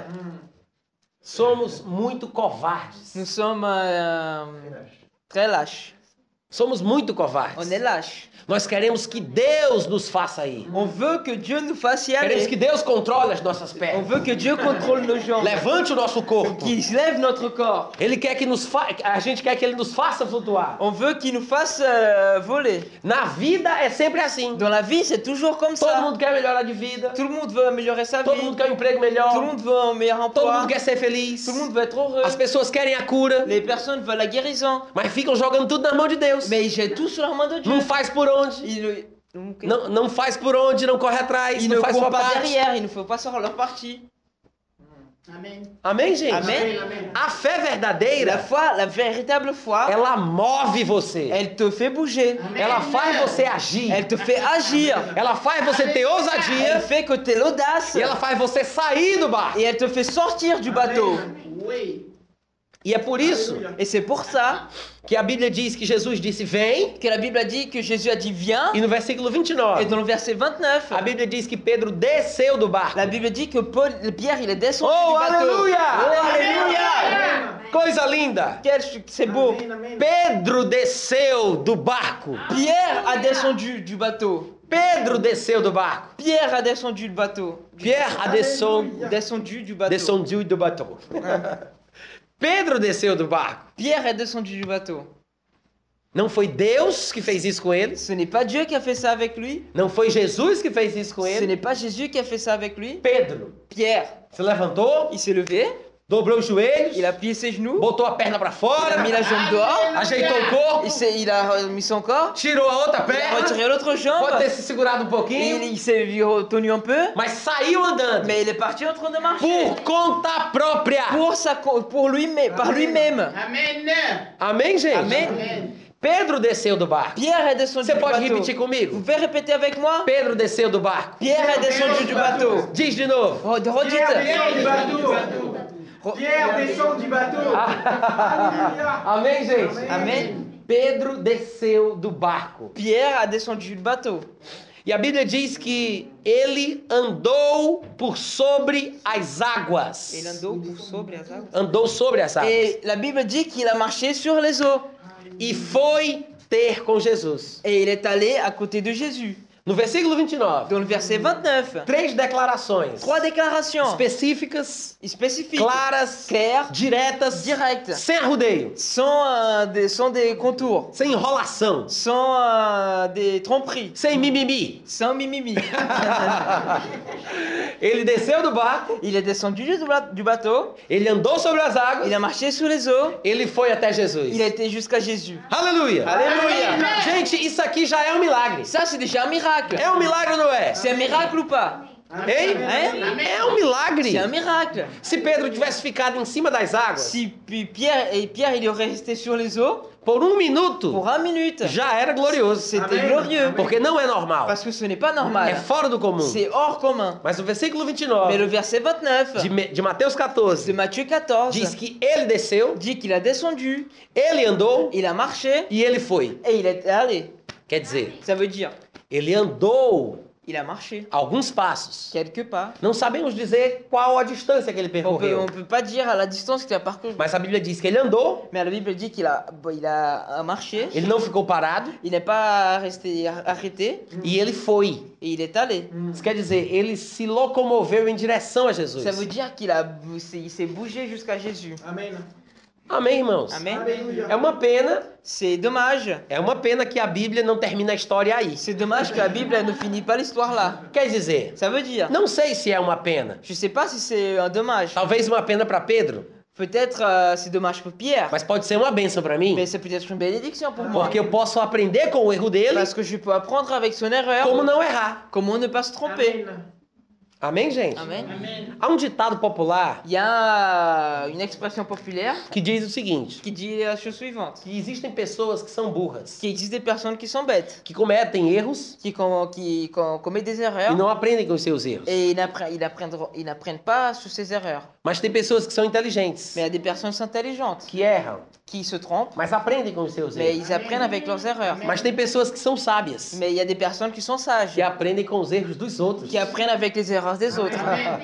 Somos muito covardes. Nous sommes euh, très lâches. Somos muito On covardes. est lâches. Nós queremos que Deus nos faça ir. On veut que Dieu nous fasse y Queremos aller. que Deus controle as nossas On pernas. veut que Dieu contrôle nos jambes. Levante o nosso corpo. Qu'il lève notre corps. Ele quer que nos fa... A gente quer que ele nos faça flutuar. On veut qu'il nous fasse euh, voler. Na vida é sempre assim. Dans la vie, c'est toujours comme Todo ça. mundo quer melhorar de vida. Tout le monde veut améliorer sa Todo vie. mundo quer um emprego Tout le melhor. monde veut un meilleur Todo emploi. mundo quer ser feliz. Tout le monde veut être heureux. As pessoas querem a cura, Les personnes veulent la guérison. mas ficam jogando tudo na mão de Deus. Mais ils jettent tout sur la main de Dieu. Não faz por onde. Ils ne, Não, não faz por onde, não corre atrás, ils não ne faz courent sua pas parte. derrière. Il ne faut pas faire leur partie. Amen. Amém, gente? Amen. Amen. A fé La verdadeira, foi, la véritable foi, ela move você. elle te fait bouger. Ela faz você agir. Elle te fait agir. Ela faz você ter Elle ousadia. fait que tu aies l'audace. E ela faz você sair do barco. Et elle te fait sortir du bateau. Oui. E é por isso Et c'est pour ça que a Bíblia diz que Jesus disse vem. que la Bible a dit que Jésus a dit viens. E no versículo vinte e Et nove, dans le verset vingt-neuf, a Bíblia diz que Pedro desceu do barco. la Bible dit que Paul, Pierre, il est descendu Oh, du bateau. alléluia! Oh, alléluia! Coisa linda! Quel, c'est beau. Amen, amen. Pedro desceu do barco. Pierre a descendu du bateau. Pedro desceu do barco. Pierre a descendu du bateau. Pierre a desceu, Descendu du bateau. descendu do bateau. Pedro desceu do barco. Pierre est descendu du bateau. Não foi Deus que fez isso com ele. Ce n'est pas Dieu qui a fait ça avec lui. Não foi Jesus que fez isso com Ce ele. n'est pas Jésus qui a fait ça avec lui. Pedro Pierre, se levantou, il s'est levé, dobrou os joelhos, il a plié ses genoux, botou a perna para il a fora, mis la jambe dehors, ajeitou o corpo, il, s'est- il a mis son corps, tirou a outra il a perna, retiré l'autre pode jambe, ter se segurado um et il, pouquinho, il s'est tenu un peu, mas saiu andando mais il est parti en train de marcher. por conta própria. Pour, sa, co- pour lui-même, par lui-même. Amen. Amém, gente? Amen. Amen. Pedro desceu do barco. Pierre est descendu Você du pode bateau. repetir Vous comigo? pouvez répéter avec moi? Pedro desceu do barco. Pierre est descendu du bateau. Diz de novo. Re- Redites. Pierre du bateau. Re- Pierre descend du bateau. Alléluia. Amém, gente? Amen. Pedro desceu do barco. Pierre a descendu du bateau. E a Bíblia diz que ele andou por sobre as águas. Et il andou pour sobre as águas. Andou sobre as águas. Et la Bible dit qu'il a marché sur les eaux. E foi ter com Jesus. Et il est allé à côté de Jésus. No versículo vinte e nove, Dans le verset vingt-neuf, três declarações trois déclarations específicas, spécifiques, claras, claires, diretas, directes, sem arrudeio, sans, euh, des, sans des contours, sem enrolação, sans euh, des tromperies, sem mimimi. sans mimimi. Ele desceu do barco, Il est descendu du ba- du bateau, ele andou sobre as águas, il a marché sous les eaux, ele foi até Jesus. il a été jusqu'à Jésus. Aleluia! Alléluia! Gente, isso aqui já é um milagre. Ça, c'est déjà un miracle. É um milagre ou não é? C'est un miracle ou pas? Hein? Hein? É um milagre. C'est un miracle. Se Pedro tivesse ficado em cima das águas Si puis Pierre et Pierre il aurait resté sur les eaux por um minuto, pour un minute, já era glorioso. c'était Amen. glorieux. Porque não é normal. Parce que ce n'est pas É normal. fora do comum. C'est hors commun. Mas o versículo vinte e Mais le nove verset vingt-neuf de, Me- de Mateus de quatorze Matthieu quatorze diz que ele desceu, dit qu'il a descendu, ele andou il a marché e ele foi. et il est allé. Quer dizer, Ça veut dire, ele andou Il a marché. alguns passos. Quelques pas. Não sabemos dizer qual a distância que ele On peut, percorreu. on peut pas dire à la distance qu'il a parcouru. Mas a Bíblia diz que ele andou, Mais la Bible dit qu'il a, il a marché. ele não ficou parado Il n'est pas resté arrêté. e ele foi. Et il est allé. Isso quer dizer, ele se locomoveu em direção a Jesus. Ça veut dire qu'il a, il s'est bougé jusqu'à Jésus. Amen. Amém, irmãos? Amen. Alléluia. É uma pena, C'est dommage. é uma pena que a Bíblia não termina a história aí. C'est dommage que la Bible elle ne finit pas l'histoire là. Quer dizer, Ça veut dire. não sei se é uma pena. Je sais pas si c'est un dommage. Talvez uma pena para Pedro, Peut-être euh, c'est dommage pour Pierre. mas pode ser uma bênção para mim, Mais c'est peut-être une bénédiction pour moi. porque eu posso aprender com o erro dele Parce que je peux apprendre avec son erreur como não errar. comment ne pas se tromper. Amen. Amém, gente? Amen. Amen. Há um ditado popular Il y a une expression populaire que diz o seguinte, qui dit la chose suivante. que existem pessoas que são burras, Qu'il existe des personnes qui sont bêtes, que cometem erros qui, com- qui com- commettent des erreurs e não aprendem com os seus erros. et ils n'appre- ils n'apprennent ils n'apprennent pas sur ces erreurs. Mas tem pessoas que são inteligentes, Mais il y a des personnes intelligentes que erram, qui se trompent, mas aprendem com os seus mais erros. ils apprennent avec leurs erreurs. Mas tem pessoas que são sábias, Mais il y a des personnes qui sont sages, que aprendem com os erros dos outros. qui apprennent avec les erreurs des autres.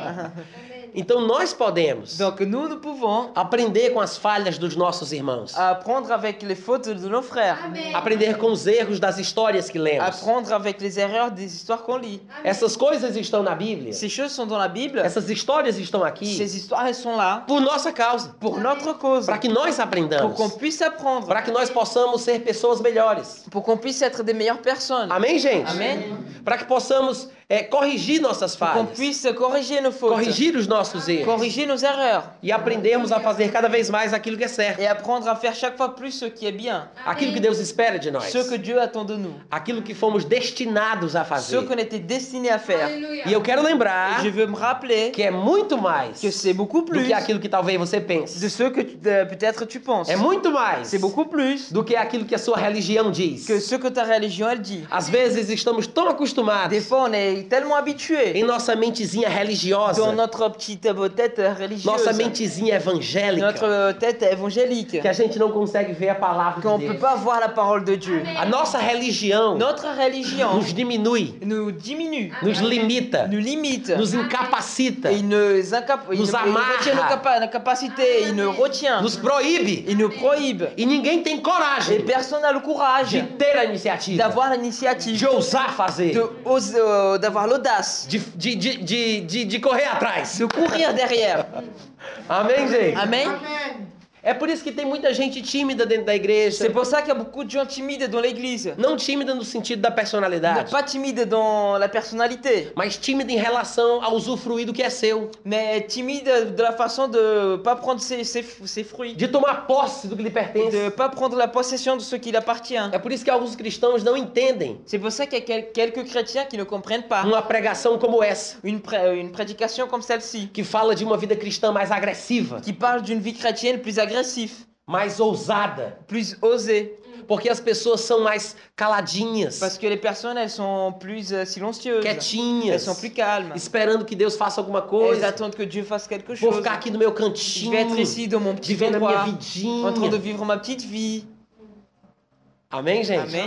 Então nós podemos Donc nous, nous pouvons aprender com as falhas dos nossos irmãos, apprendre avec les fautes de nos frères, aprender com os erros das histórias que lemos. apprendre avec les erreurs des histoires qu'on lit. Essas coisas estão na Bíblia, Ces choses sont dans la Bible, essas histórias estão aqui ces histoires elles sont là por nossa causa, pour notre cause, para que nós pour aprendamos, qu'on puisse apprendre, para que nós possamos ser pessoas melhores. pour qu'on puisse être des meilleures personnes, Amém, gente? Amen. Para que possamos é, corrigir nossas pour qu'on falhas, puisse corriger nos fautes, corrigir os nossos erros corriger nos erreurs e aprendermos a fazer cada vez mais aquilo que é certo, et apprendre à faire chaque fois plus ce qui est bien, aquilo que Deus espera de nós, ce que Dieu attend de nous, aquilo que fomos destinados a ce fazer. qu'on était destiné à faire. E eu quero lembrar Je veux me rappeler que é muito mais que c'est beaucoup do plus que aquilo que talvez você de pense. ce que tu- de- peut-être tu penses. É muito mais C'est beaucoup plus do que aquilo que a sua religião diz. que ce que ta religion elle dit. Às vezes estamos tão Des acostumados fois, on est tellement habitué em nossa mentezinha religiosa, dans notre petite euh, tête religieuse, nossa mentezinha evangélica, notre euh, tête évangélique, que a gente não consegue ver a palavra qu'on de ne peut Deus. pas voir la parole de Dieu. A nossa religião Notre religion nos diminui, nous diminue, nos limita, nous limite, nos incapacita, et il nous, incap- il Nous nous- il amarre. retient nos, capa- nos capacités, il nous retient, nos proíbe. il nous prohibe. E ninguém tem Et coragem personne n'a le courage de ter a iniciativa, d'avoir l'initiative, de ousar fazer, de oser, euh, d'avoir l'audace, de, de, de, de, de, de correr atrás. de courir derrière. Amém, gente? Amen. Amen. É por isso que tem muita gente tímida dentro da igreja. C'est pour ça qu'il y a beaucoup de gens timides dans l'église. Não tímida no sentido da personalidade, Pas timides dans la personnalité, mas tímida em relação a usufruir do que é seu, mais timides de la façon de pas prendre ses, ses, ses fruits, de tomar posse do que lhe pertence. de pas prendre la possession de ce qui lui appartient. É por isso que alguns cristãos não entendem C'est pour ça qu'il y a quel- quelques chrétiens qui ne comprennent pas uma pregação como essa, une, pré- une prédication comme celle-ci, que fala de uma vida cristã mais agressiva, qui parle d'une vie chrétienne plus agressive, mais ousada, plus osée, porque as pessoas são mais caladinhas, parce que les personnes elles sont plus euh, silencieuses, elles quietinhas, sont plus calmes, esperando que Deus faça alguma elles coisa. attendent que Dieu fasse quelque Vou chose. ficar aqui no meu Je cantinho, vais être ici dans mon petit vivendo a minha endroit, en train de vidinha. vivre ma petite vie. Amém, gente? Amen.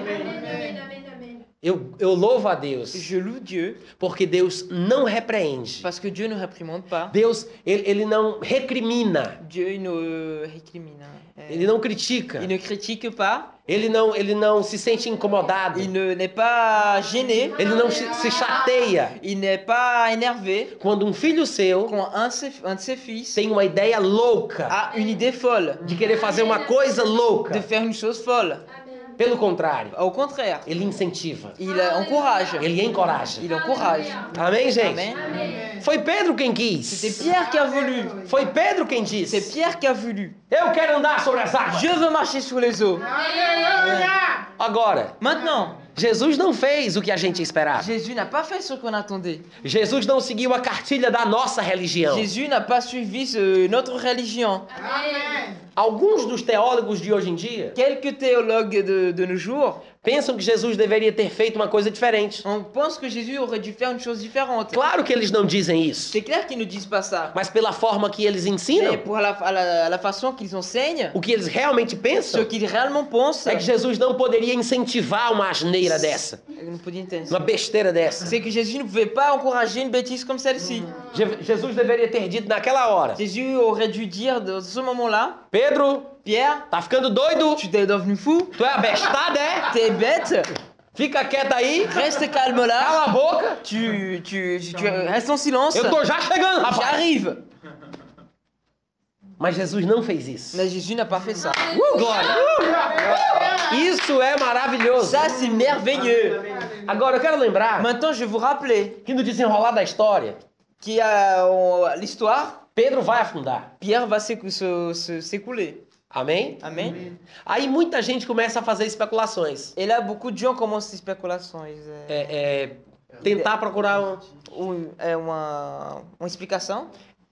Eu, eu louvo a Deus, Je loue Dieu porque Deus não repreende. parce que Dieu ne réprimande pas. Deus, ele, ele não recrimina, Dieu il ne récrimine. euh, ele não critica, Il ne critique pas. ele não, ele não se sente incomodado, Il ne n'est pas gêné. ele não se, se chateia Il n'est pas énervé quando um filho seu quand un de ses, un de ses fils tem uma ideia louca a une idée folle, de querer fazer uma coisa de louca. faire une chose folle. Pelo contrário, Au contraire, ele incentiva, il euh, encourage. ele encoraja. Il encourage. Amém, gente? Amen. Foi Pedro quem C'est quis. Pierre qui a voulu. Foi Pedro quem C'est disse. Pierre qui a voulu. Eu quero andar sobre as águas. Je veux marcher sur les eaux. Alléluia. Agora, Maintenant, Jesus não fez o que a gente esperava. Jésus n'a pas fait ce qu'on attendait. Jesus não seguiu a cartilha da nossa religião. Jésus n'a pas suivi ce- notre religion. Amen. Alguns dos teólogos de hoje em dia Quelques théologues de, de nos jours pensam que Jesus deveria ter feito uma coisa diferente. On pense que Jésus aurait dû faire une chose différente. Claro que eles não dizem isso, C'est clair qu'ils ne disent pas ça. mas pela forma que eles Mais ensinam, pour la, à la, à la façon qu'ils enseignent, o que eles realmente ce pensam qu'ils réellement pensent, é que Jesus não poderia incentivar uma asneira dessa, euh, não podia entender. uma besteira dessa. C'est que Jésus ne pouvait pas encourager une bêtise comme celle-ci. Je- Jesus deveria ter dito naquela hora: Jésus aurait dû dire dans ce moment-là, Pedro, Pierre, tá ficando doido? tu t'es devenu fou, Tu é abestado, é? t'es bête, Fica quieto aí, reste calme là, cala a boca. tu, tu, tu, tu restes en silence, Eu tô já chegando, rapaz. j'arrive. Mas Jesus não fez isso. Mais Jésus n'a pas fait ça. Uh, glória! Uh! Isso é maravilhoso. Ça, c'est merveilleux. Agora eu quero lembrar Maintenant, je vais vous rappeler que no desenrolar da história, qu'il y a euh, l'histoire, Pedro vai afundar. Pierre va s'écou- se- se- s'écouler. Amém? Amen. Aí muita gente começa a fazer especulações. Et là, beaucoup de gens commencent ces spéculations. Ils, euh, É, é, tentar procurar um, ou, euh, uma, uma explicação.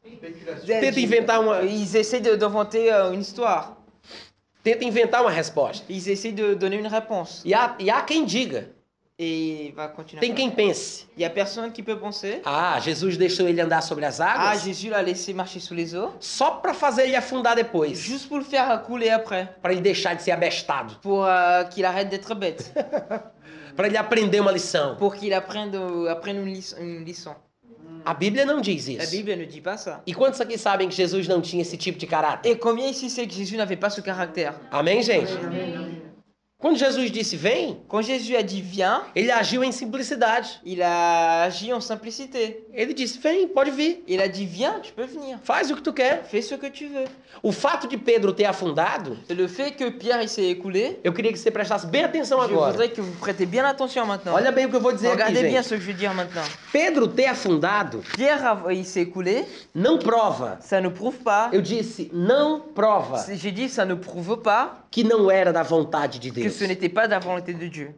tenta inventar uma, Ils essaient de- d'inventer euh, une histoire. tenta inventar uma resposta. Ils essaient de donner une réponse. E há, e há quem diga, Et il va continuer. tem quem pense: Il y a personne qui peut penser. ah, Jesus deixou ele andar sobre as Ah, águas Jésus l'a laissé marcher sous les eaux. só para fazer ele afundar depois, Juste pour le faire couler après. para ele deixar de ser abestado, Pour euh, qu'il arrête d'être bête. para ele aprender uma lição. Pour qu'il apprenne, euh, apprenne une, lic- une leçon. A Bíblia não diz La isso. Bible ne dit pas ça. E quantos aqui sabem que Jesus não tinha esse tipo de caráter? Et combien ici sait que Jésus n'avait pas ce caractère? Amém, gente? Quando Jesus disse vem, Quand Jésus a dit viens, ele agiu em simplicidade. il a agi en simplicité. Ele disse: vem, pode vir, Il a dit viens, tu peux venir. faz o que tu quer. Fais ce que tu veux. O fato de Pedro ter afundado, Et le fait que Pierre il s'est écoulé, eu queria que você prestasse bem atenção je agora. voudrais que vous prêtez bien attention maintenant. Olha bem o que eu vou dizer aqui, Regardez bien gente. ce que je vais dire maintenant. Pedro ter afundado Pierre a- il s'est écoulé, não prova. ça ne prouve pas. Eu disse, não prova C'est- J'ai dit ça ne prouve pas que não era da vontade de que Deus. ce n'était pas de la volonté de Dieu.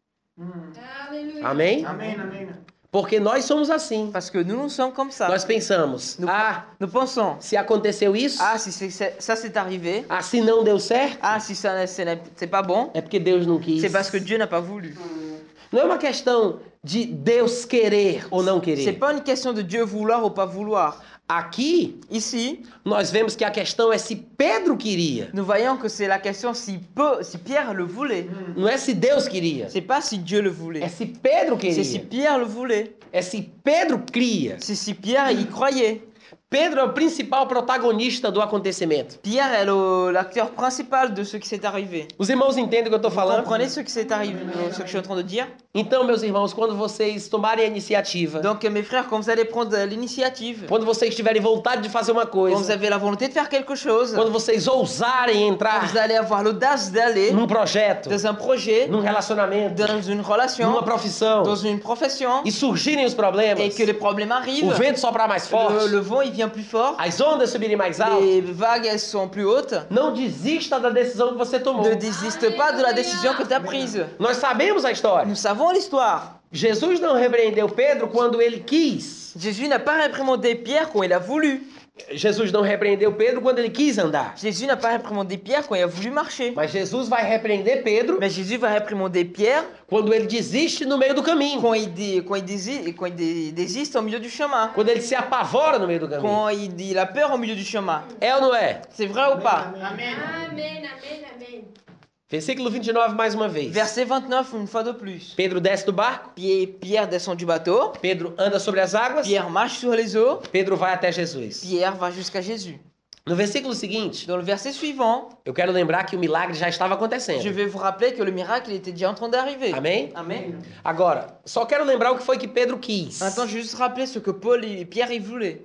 Aleluia. Amém? Amém, amém. Porque nós somos assim. Parce que nous, nous sommes comme ça. Nós pensamos, Nous, ah, nous pensons, se aconteceu isso, ah, si c'est- c'est- ça c'est arrivé, ah, se não deu certo, ah, si ça n'est- ce n'est- c'est pas bon, é porque Deus não quis. c'est parce que Dieu n'a pas voulu. Não é uma questão de Deus querer ou não C'est querer. pas une question de Dieu vouloir ou pas vouloir. Aqui, Ici, nós vemos que a questão é se Pedro queria, nous voyons que c'est la question si, peu, si Pierre le voulait. não é se Deus queria. C'est pas si Dieu le É voulait. se Pedro C'est si queria. Pierre le voulait. É se Pedro cria. C'est si Pierre y croyait. Pedro é o principal protagonista do acontecimento. Pierre est le- l'acteur principal de ce qui s'est arrivé. Os irmãos entendem o que eu estou Vous falando? comprenez ce qui s'est arrivé, ce que je suis en train de dire? Então, meus irmãos, quando vocês tomarem a iniciativa, Donc mes frères, quand vous allez prendre l'initiative, quando vocês tiverem vontade de fazer uma quand vous coisa, avez la volonté de faire quelque chose, quando vocês ousarem vous entrar allez avoir l'audace d'aller num projeto, dans un projet, num relacionamento, dans une relation, numa profissão, dans une profession, e surgirem os problemas, et que les problèmes o arrivent, vento soprar mais forte, le, le vent il vient plus fort, as ondas subirem mais alto, les vagues elles sont plus hautes, não desista da decisão que você tomou. ne désiste pas de la décision que tu as prise. Nós sabemos a história. Nous savons l'histoire. Jesus não repreendeu Pedro quando ele quis. Jésus n'a pas réprimandé Pierre quand il a voulu. Jesus não repreendeu Pedro quando ele quis andar. Jésus n'a pas réprimandé Pierre quand il a voulu marcher. Mas Jesus vai repreender Pedro Mais Jésus va réprimander Pierre quando ele desiste no meio do caminho. quand il, dé- quand il, dési- quand il dé- désiste au milieu du chemin. Quando ele se apavora no meio do caminho. Quand il, il a peur au milieu du chemin. É ou não é? C'est vrai ou pas? Amém. Amém, amém, amém. Versículo vinte e nove mais uma vez. Verset vingt-neuf, une fois de plus. Pedro desce do barco. Pierre, Pierre descend du bateau. Pedro anda sobre as águas. Pierre marche sur les eaux. Pedro vai até Jesus. Pierre va jusqu'à Jésus. No versículo seguinte, Dans le verset suivant, eu quero lembrar que o milagre já estava je acontecendo. vais vous rappeler que le miracle était déjà en train d'arriver. Amém? Amen. Agora, só quero lembrar o que foi que Pedro quis. Maintenant, je vais juste rappeler ce que Paul et Pierre y voulaient.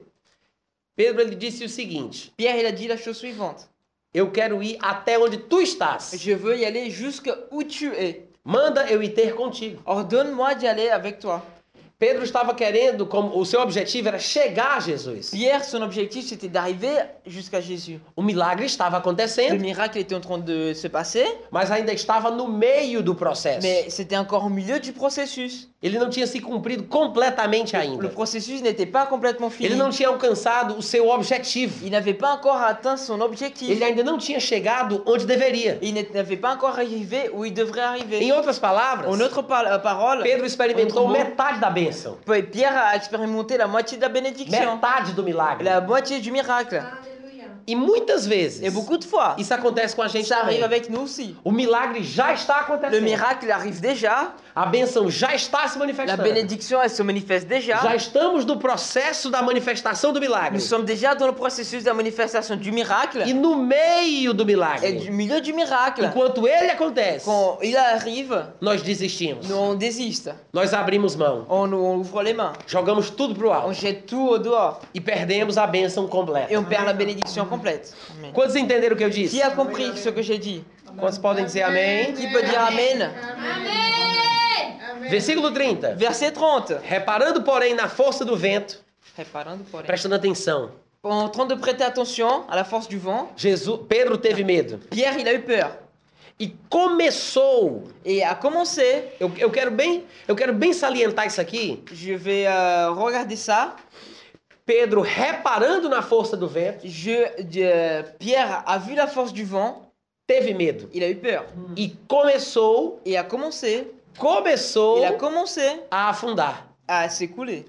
Pedro ele disse o seguinte: Pierre, il a dit la chose suivante. eu quero ir até onde tu estás. Je veux y aller jusqu'où tu es. Manda eu ir ter contigo. Ordonne-moi d'y aller avec toi. Pedro estava querendo, como o seu objetivo era chegar a Jesus. Pierre, son objectif, c'était d'arriver jusqu'à Jésus. O milagre estava Le acontecendo, miracle était en train de se passer, mas ainda estava no meio do processo. mais c'était encore au milieu du processus. Ele não tinha se cumprido completamente Le ainda. processus n'était pas complètement fini. Ele não tinha alcançado o seu objetivo. Il n'avait pas encore atteint son objectif. Ele ainda não tinha chegado onde deveria. Il n'avait pas encore arrivé où il devrait arriver. Em outras palavras, En autre par- parole, Pedro experimentou Autre mot. metade da bênção, Pierre a expérimenté la moitié de la bénédiction, metade do milagre. la moitié du miracle. Aleluia. E muitas vezes, Et beaucoup de fois, isso acontece com a gente ça arrive também. avec nous aussi. O milagre já está Le acontecendo. miracle arrive déjà, A bênção já está se la manifestando. bénédiction elle se manifeste Já déjà. estamos no processo da manifestação do milagre. Nous sommes déjà dans le processus de la manifestation du miracle E no meio do et milagre, du milieu du miracle. enquanto ele acontece, Quand il arrive, nós desistimos. nous on désiste, Nós abrimos mão. on, on ouvre les mains, Jogamos tudo pro on alto. jette tout au dehors E perdemos a bênção et completa. on perd la bénédiction complète. Amen. Quantos entenderam o que eu disse? Qui a compris ce que j'ai dit? Quantos podem dizer amém? Qui peut dire Amen? Amém. Versículo trinta. Verset trente. Reparando, porém, na força do vento, Reparando, porém. prestando atenção, En train de prêter attention à la force du vent, Jesus, Pedro teve medo Pierre, il a eu peur. e começou. Et a commencé, Eu, eu quero bem, eu quero bem salientar isso aqui. je vais euh, regarder ça. Pedro reparando na força do vento, Je, je- Pierre a vu la force du vent, teve medo il a eu peur. e começou, Et a commencé, começou il a commencé a afundar. à s'écouler.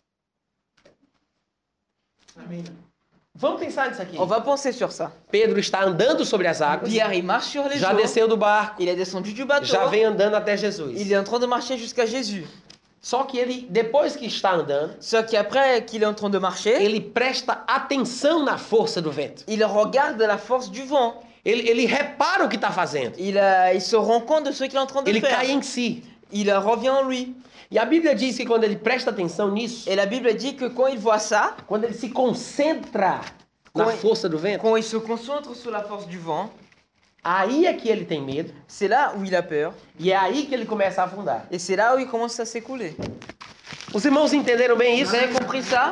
Amém. Vamos pensar nisso aqui. On va penser sur ça. Pedro está andando sobre as águas, Pierre, il marche sur les já eaux. desceu do barco, Il est descendu du bateau. já vem andando até Jesus. Il est en train de marcher jusqu'à Jésus. Só que ele, depois que está andando, Sauf qu'après qu'il est en train de marcher, ele presta atenção na força do vento. il regarde la force du vent. Ele, ele repara o que está fazendo. Il, euh, il se rend compte de ce qu'il est en train de Ele faire. cai em si. Il euh, revient en lui. E a Bíblia diz que quando ele presta atenção nisso, Et la Bible dit que quand il voit ça, quando ele se concentra na Coi- força do vento, quand il se concentre sur la force du vent, aí é que ele tem medo c'est là où il a peur. e é aí que ele começa a afundar. Et c'est là où il commence à s'écouler. Os irmãos entenderam bem isso? Vous avez compris ça?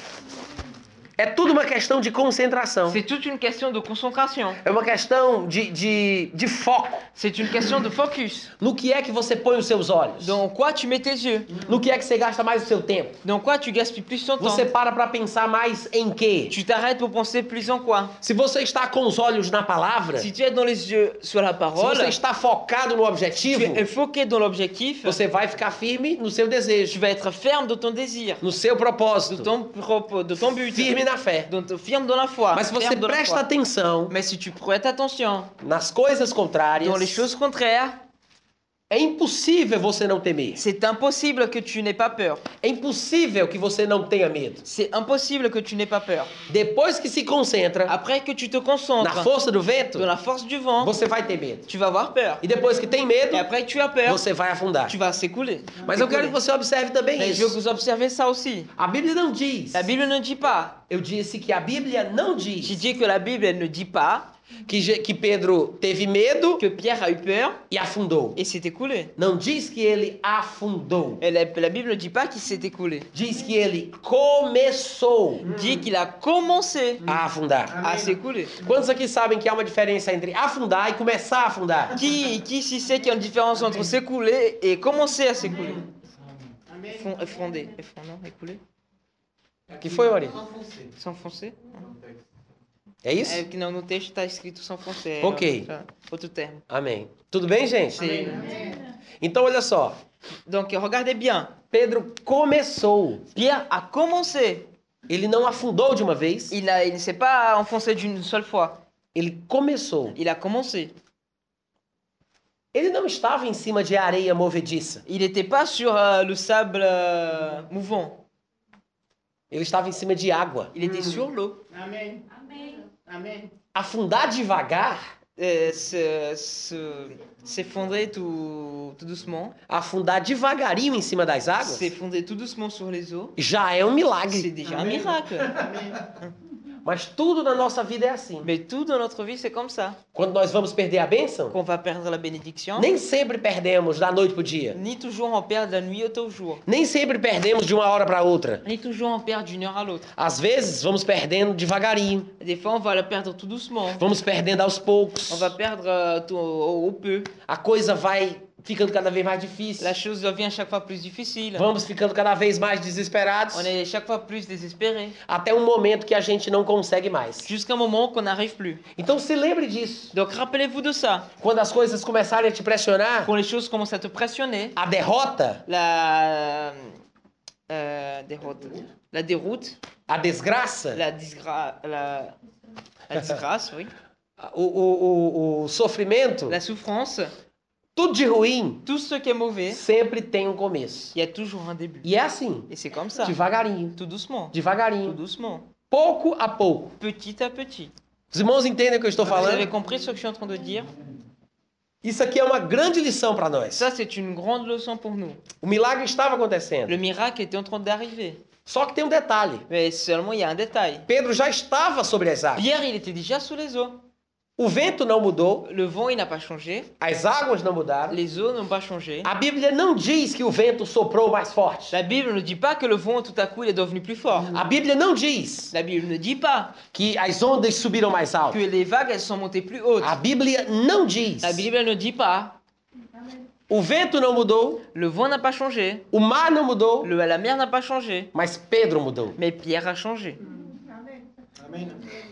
É tudo uma questão de concentração. C'est toute une question de concentration. É uma questão de, de, de foco. C'est une question de focus. No que é que você põe os seus olhos? Dans quoi tu mets tes yeux? No que é que você gasta mais o seu tempo? Dans quoi tu gaspilles plus ton temps? Você para para pensar mais em quê? Tu t'arrêtes pour penser plus en quoi? Se você está com os olhos na palavra, Si tu es dans les yeux sur la se parole, você está focado no tu objetivo, es enfoqué dans l'objectif, você vai ficar firme no seu tu desejo, vas être ferme dans ton désir, no seu de propósito, ton, propos, de ton but, firme na fé. dans ton- ferme dans la foi. Mas se você ferme dans la presta foi. atenção Mais si tu prêtes attention nas coisas contrárias, dans les choses contraires, é impossível você não temer. c'est impossible que tu n'aies pas peur. É impossível que você não tenha medo. C'est impossible que tu n'aies pas peur. Depois que se concentra Après que tu te na concentres força do vento, dans la force du vent, você vai ter medo. tu vas avoir peur. E depois que tem medo, Et après que tu as peur, você vai afundar. tu vas s'écouler. Mas eu quero que você observe também Mais je veux que isso. vous observez ça aussi. A Bíblia não diz. La Bible ne dit pas. Eu disse que a Bíblia não Je diz dis que la Bible elle ne dit pas que, Je- que Pedro teve medo que Pierre a eu peur e afundou. et s'est écoulé. Não diz que ele afundou. Et la, la Bible ne dit pas qu'il s'est écoulé. Diz que ele começou Dit qu'il a commencé a afundar. à s'écouler. Quantos aqui sabem que há uma diferença entre afundar e começar a afundar? Qui, qui ici sait qu'il y a une différence entre s'écouler et commencer à s'écouler? Amém. Fond- Effondé. Effondé, non, écoulé. Que foi, Maria? S'enfoncer. S'enfoncer? No texto. É isso? É que não, no texto está escrito s'enfoncer. Ok. É outro termo. Amém. Tudo bem, gente? C'est- Então, olha só. Donc, regardez bien. Pedro começou. Pierre a commencé. Ele não afundou de uma vez. Il, a- il ne s'est pas enfoncé d'une seule fois. Ele começou. Il a commencé. Ele não estava em cima de areia movediça. Il n'était pas sur euh, le sable euh, mouvant. Ele estava em cima de água. Il était sur l'eau. Amém. Amém. Amém. Afundar devagar, Euh, se- se- S'effondrer tout, tout doucement. afundar devagarinho em cima das águas, S'effondrer tout doucement sur les eaux. já é um C'est milagre. déjà un Amen. miracle. Amém. Mas tudo na nossa vida é assim. Mais tout dans notre vie, c'est comme ça. Quando nós vamos perder a bênção, Qu'on va perdre la bénédiction. nem sempre perdemos da noite pro dia. Ni toujours on perd de la nuit au jour. Nem sempre perdemos de uma hora para outra. Ni toujours on perd d'une heure à l'autre. Às vezes vamos perdendo devagarinho, Des fois, on va la perdre tout doucement. vamos perdendo aos poucos. On va perdre euh, tout au, au peu. A coisa vai ficando cada vez mais difícil. la chose devient chaque fois plus difficile. Vamos ficando cada vez mais desesperados. On est chaque fois plus désespéré. Até um momento que a gente não consegue mais. Jusqu'à un moment qu'on n'arrive plus. Então se lembre disso. Donc rappelez-vous de ça. Quando as coisas começarem a te pressionar, Quand les choses commencent à te pressionner, a derrota, la euh, déroute, la déroute, a desgraça, la disgrâce, la, la disgrâce, oui, o, o, o, o sofrimento, la souffrance, tudo de ruim, tout ce qui est mauvais, sempre tem um começo. il y a toujours un début. E é assim, Et c'est comme ça, devagarinho, tout doucement, tout devagarinho, doucement, pouco a pouco. petit à petit. Os irmãos entendem o que eu estou Vous avez falando? compris ce que je suis en train de dire? Isso aqui é uma grande lição para nós. Ça, c'est une grande leçon pour nous. O milagre estava acontecendo. Le miracle était en train d'arriver. Só que tem um detalhe. Mais seulement, il y a un détail. Pedro já estava sobre as águas. Pierre, il était déjà sous les eaux. O vento não mudou, Le vent, il n'a pas changé. as águas não mudaram. Les eaux n'ont pas changé. A Bíblia não diz que o vento soprou mais forte. La Bible ne dit pas que le vent, tout à coup, il est devenu plus fort. A Bíblia não diz La Bible ne dit pas que as ondas subiram mais alto. que les vagues, elles sont montées plus hautes. A Bíblia não diz. La Bible ne dit pas O vento não mudou, le vent n'a pas changé. o mar não mudou, Le, la mer n'a pas changé. mas Pedro mudou. Mais Pierre a changé. Amen.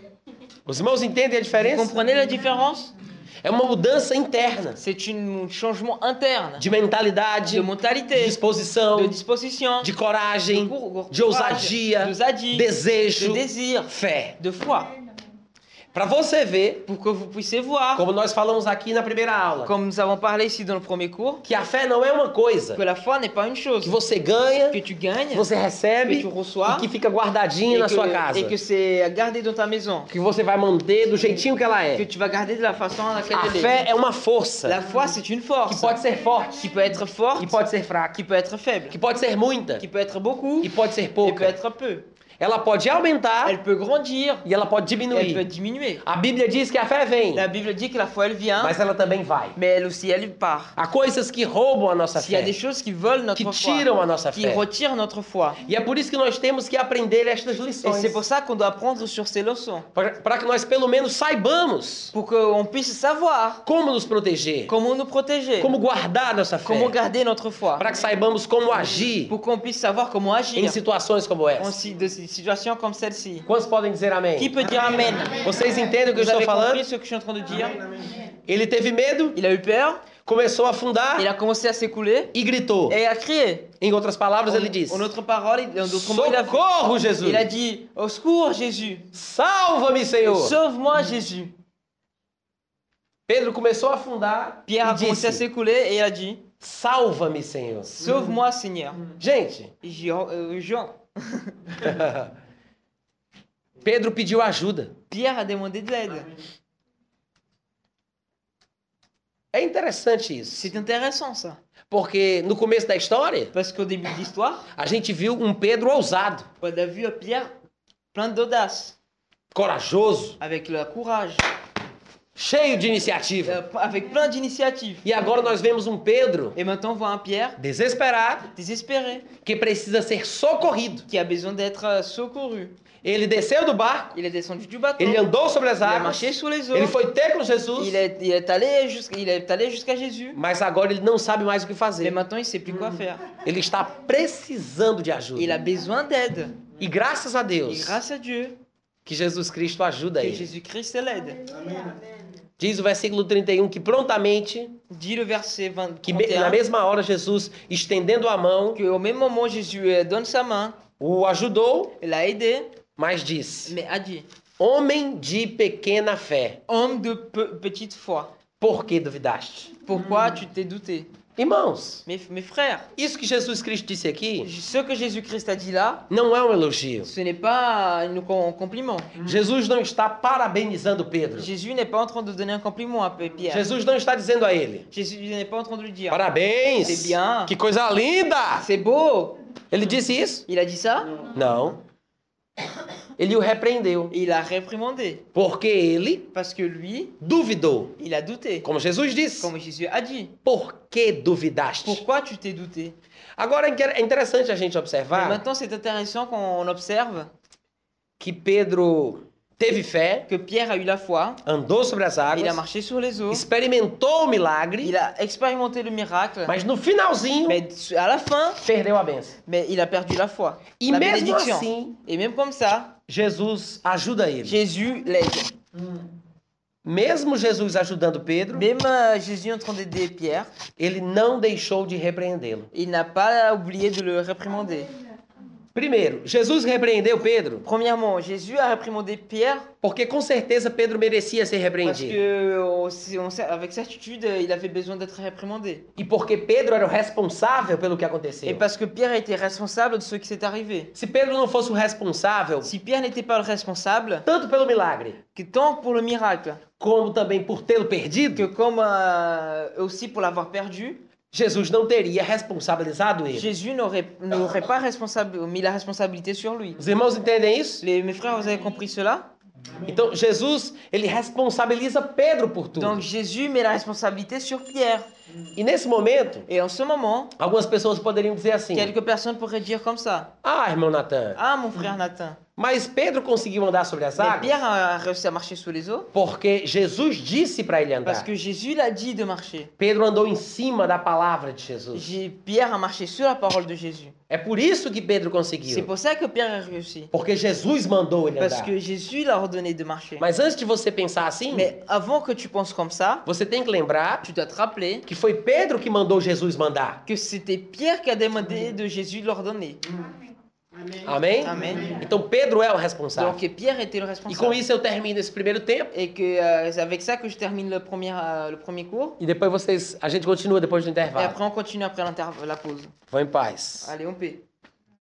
Os irmãos entendem a Vous diferença? comprenez la différence? É uma mudança interna C'est un changement interne. de mentalidade, De de mentalité, disposição, de disposition, de coragem, de cour- de courage, ousadia, d'ousadia, desejo, de désir, fé. de foi. Para você ver, Pour que vous puissiez voir, como nós falamos aqui na primeira aula, comme nous avons parlé ici dans le premier cours, que a fé não é uma coisa que la foi n'est pas une chose que você ganha, que tu gagnes que você recebe que tu reçois, e que fica guardadinha et na que, sua casa. et que c'est gardé dans ta maison, Que você vai manter do jeitinho que ela que é. tu vas garder de la façon à laquelle A elle fé est. é uma força La foi, c'est une que force pode ser forte, qui peut être forte, que pode ser fraca, qui peut être faible, que pode ser muita, qui peut être beaucoup, que pode ser et peut pouca. être peu. Ela pode aumentar Elle peut grandir, e ela pode et elle peut diminuir. diminuer. A Bíblia diz que a fé vem, La Bible dit que la foi, elle vient, mas ela também vai. mais elle aussi, elle part. Há coisas que roubam a nossa S'il y a des fé, choses qui volent notre que foi, tiram a nossa qui fé. retirent notre foi. E é por isso que nós temos que aprender estas Et lições. c'est pour ça qu'on doit apprendre sur ces leçons. Para que nós pelo menos saibamos Pour qu'on puisse savoir como nos proteger, comment nous protéger, como guardar nossa fé, comment garder notre foi. para que saibamos como agir Pour qu'on puisse savoir comment agir em situações como en essa. si- de situations comme celle-ci. Quantos podem dizer amém? Qui peut dire Amen? Vocês entendem o que eu Vous estou avez falando? compris ce que je suis en train de dire? Ele teve medo, Il a eu peur, começou a afundar il a commencé à s'écouler e gritou. et a crié. Em outras palavras, ele disse: En autre parole, il- en d'autres mots, il a, Socorro, Jesus! il a dit au secours Jésus, Salva-me, Senhor! sauve-moi Jésus. Pedro começou a afundar Pierre a e commencé à disse: s'écouler et il a dit Salva-me, Senhor. sauve-moi Seigneur. Gente, Jean, euh, Jean. Pedro pediu ajuda. Pierre a demandé de l'aide. É interessante isso, C'est intéressant ça. porque no começo da história, Parce qu'au début de l'histoire, a gente viu um Pedro ousado, on a vu Pierre plein d'audace, corajoso, avec le courage, cheio de iniciativa. euh, avec plein d'initiatives. E agora nós vemos um Pedro Et maintenant on voit un Pierre desesperado, désespéré, que precisa ser socorrido. qui a besoin d'être euh, secouru. Ele desceu do barco, Il est descendu du bateau, ele andou sobre as il a águas, marché sous les eaux, ele foi ter com Jesus, il est, il est allé jusqu'à il est allé jusqu'à Jésus. mas agora ele não sabe mais o que Mais fazer. maintenant il sait plus quoi faire. Ele está precisando de Il ajuda. a besoin d'aide. E graças a Et Deus grâce à Dieu, que Jesus Cristo ajuda que ele. Jésus-Christ l'aide. Diz o versículo trinta e um que prontamente, Dit le verset vingt, que me- na trente et un, mesma hora Jesus, estendendo a mão, que au même moment Jésus euh, donne sa main, o ajudou, il l'a aidé, mas disse: mais a dit Homem de pequena fé, homme de pe- petite foi, por que duvidaste? pourquoi tu t'es douté? Irmãos, Mes, mes frères, isso que Jesus Cristo disse aqui ce que Jésus-Christ a dit là, não é um elogio. ce n'est pas un com- compliment. Jesus não está parabenizando Pedro. Jésus n'est pas en train de donner un compliment à Pierre. Jesus não está dizendo a ele: Jésus n'est pas en train de lui dire Parabéns! C'est bien. Que coisa linda! c'est beau. Ele disse isso? Il a dit ça Não. Ele o repreendeu, et il a réprimandé porque ele parce que lui, duvidou. il a douté. Como Jesus disse: Comme Jésus a dit. Por que duvidaste? Pourquoi tu t'es douté? Agora é interessante a gente Mais observar maintenant, c'est intéressant qu'on observe que Pedro teve fé, que Pierre a eu la foi, andou sobre as il a águas, marché sur les eaux, experimentou o milagre, il a expérimenté le miracle, mas no finalzinho mais à la fin, perdeu a benção. mais il a perdu la foi, E la mesmo bénédiction. assim, Et même comme ça, Jesus ajuda ele. Jésus l'aide. Mesmo Jesus ajudando Pedro, Même euh, Jésus en train d'aider Pierre, ele não deixou de repreendê-lo. il n'a pas oublié de le réprimander. Primeiro, Jesus repreendeu Pedro Premièrement, Jésus a réprimandé Pierre porque com certeza Pedro merecia ser parce repreendido. que, on sait- on sait- avec certitude, il avait besoin d'être réprimandé. E porque Pedro era o responsável pelo que Et aconteceu. parce que Pierre était responsable de ce qui s'est arrivé. Se Pedro não fosse o responsável, Si Pierre n'était pas le responsable, tanto pelo milagre, que tant pour le miracle, como também por tê-lo perdido, que comme euh, aussi pour l'avoir perdu, Jesus não teria responsabilizado ele. Jésus n'aurait n'aurait pas responsable, mis la responsabilité sur lui. Os irmãos entendem isso? Les, mes frères, vous avez compris cela? Então Jesus, ele responsabiliza Pedro por tudo. Donc Jésus met la responsabilité sur Pierre. E nesse momento, Et en ce moment, algumas pessoas poderiam dizer assim: quelques personnes pourraient dire comme ça. Ah, irmão Natan, Ah, mon frère Nathan. mas Pedro conseguiu andar sobre as Mais águas Pierre a réussi à marcher sous les eaux porque Jesus disse para ele parce andar. que Jésus l'a dit de marcher. Pedro andou em cima da palavra de Jesus. J'ai- Pierre a marché sur la parole de Jésus. É por isso que Pedro C'est conseguiu. pour ça que Pierre a réussi. Porque Jesus mandou ele Parce andar. que Jésus l'a ordonné de marcher. Mas antes de você pensar assim, Mais avant que tu penses comme ça, você tem que lembrar tu dois te rappeler que foi Pedro que mandou Jesus mandar. que c'était Pierre qui a demandé de Jésus de l'ordonner. Amém? Amen. Então Pedro é o responsável. Donc Pierre était le E com responsable. isso eu termino esse primeiro tempo. Et que euh, c'est avec ça que je termine le premier, euh, le premier cours. E depois vocês, a gente continua depois do Et intervalo. après on continue après l'inter- la pause. Vão em paz. Allez, on paie.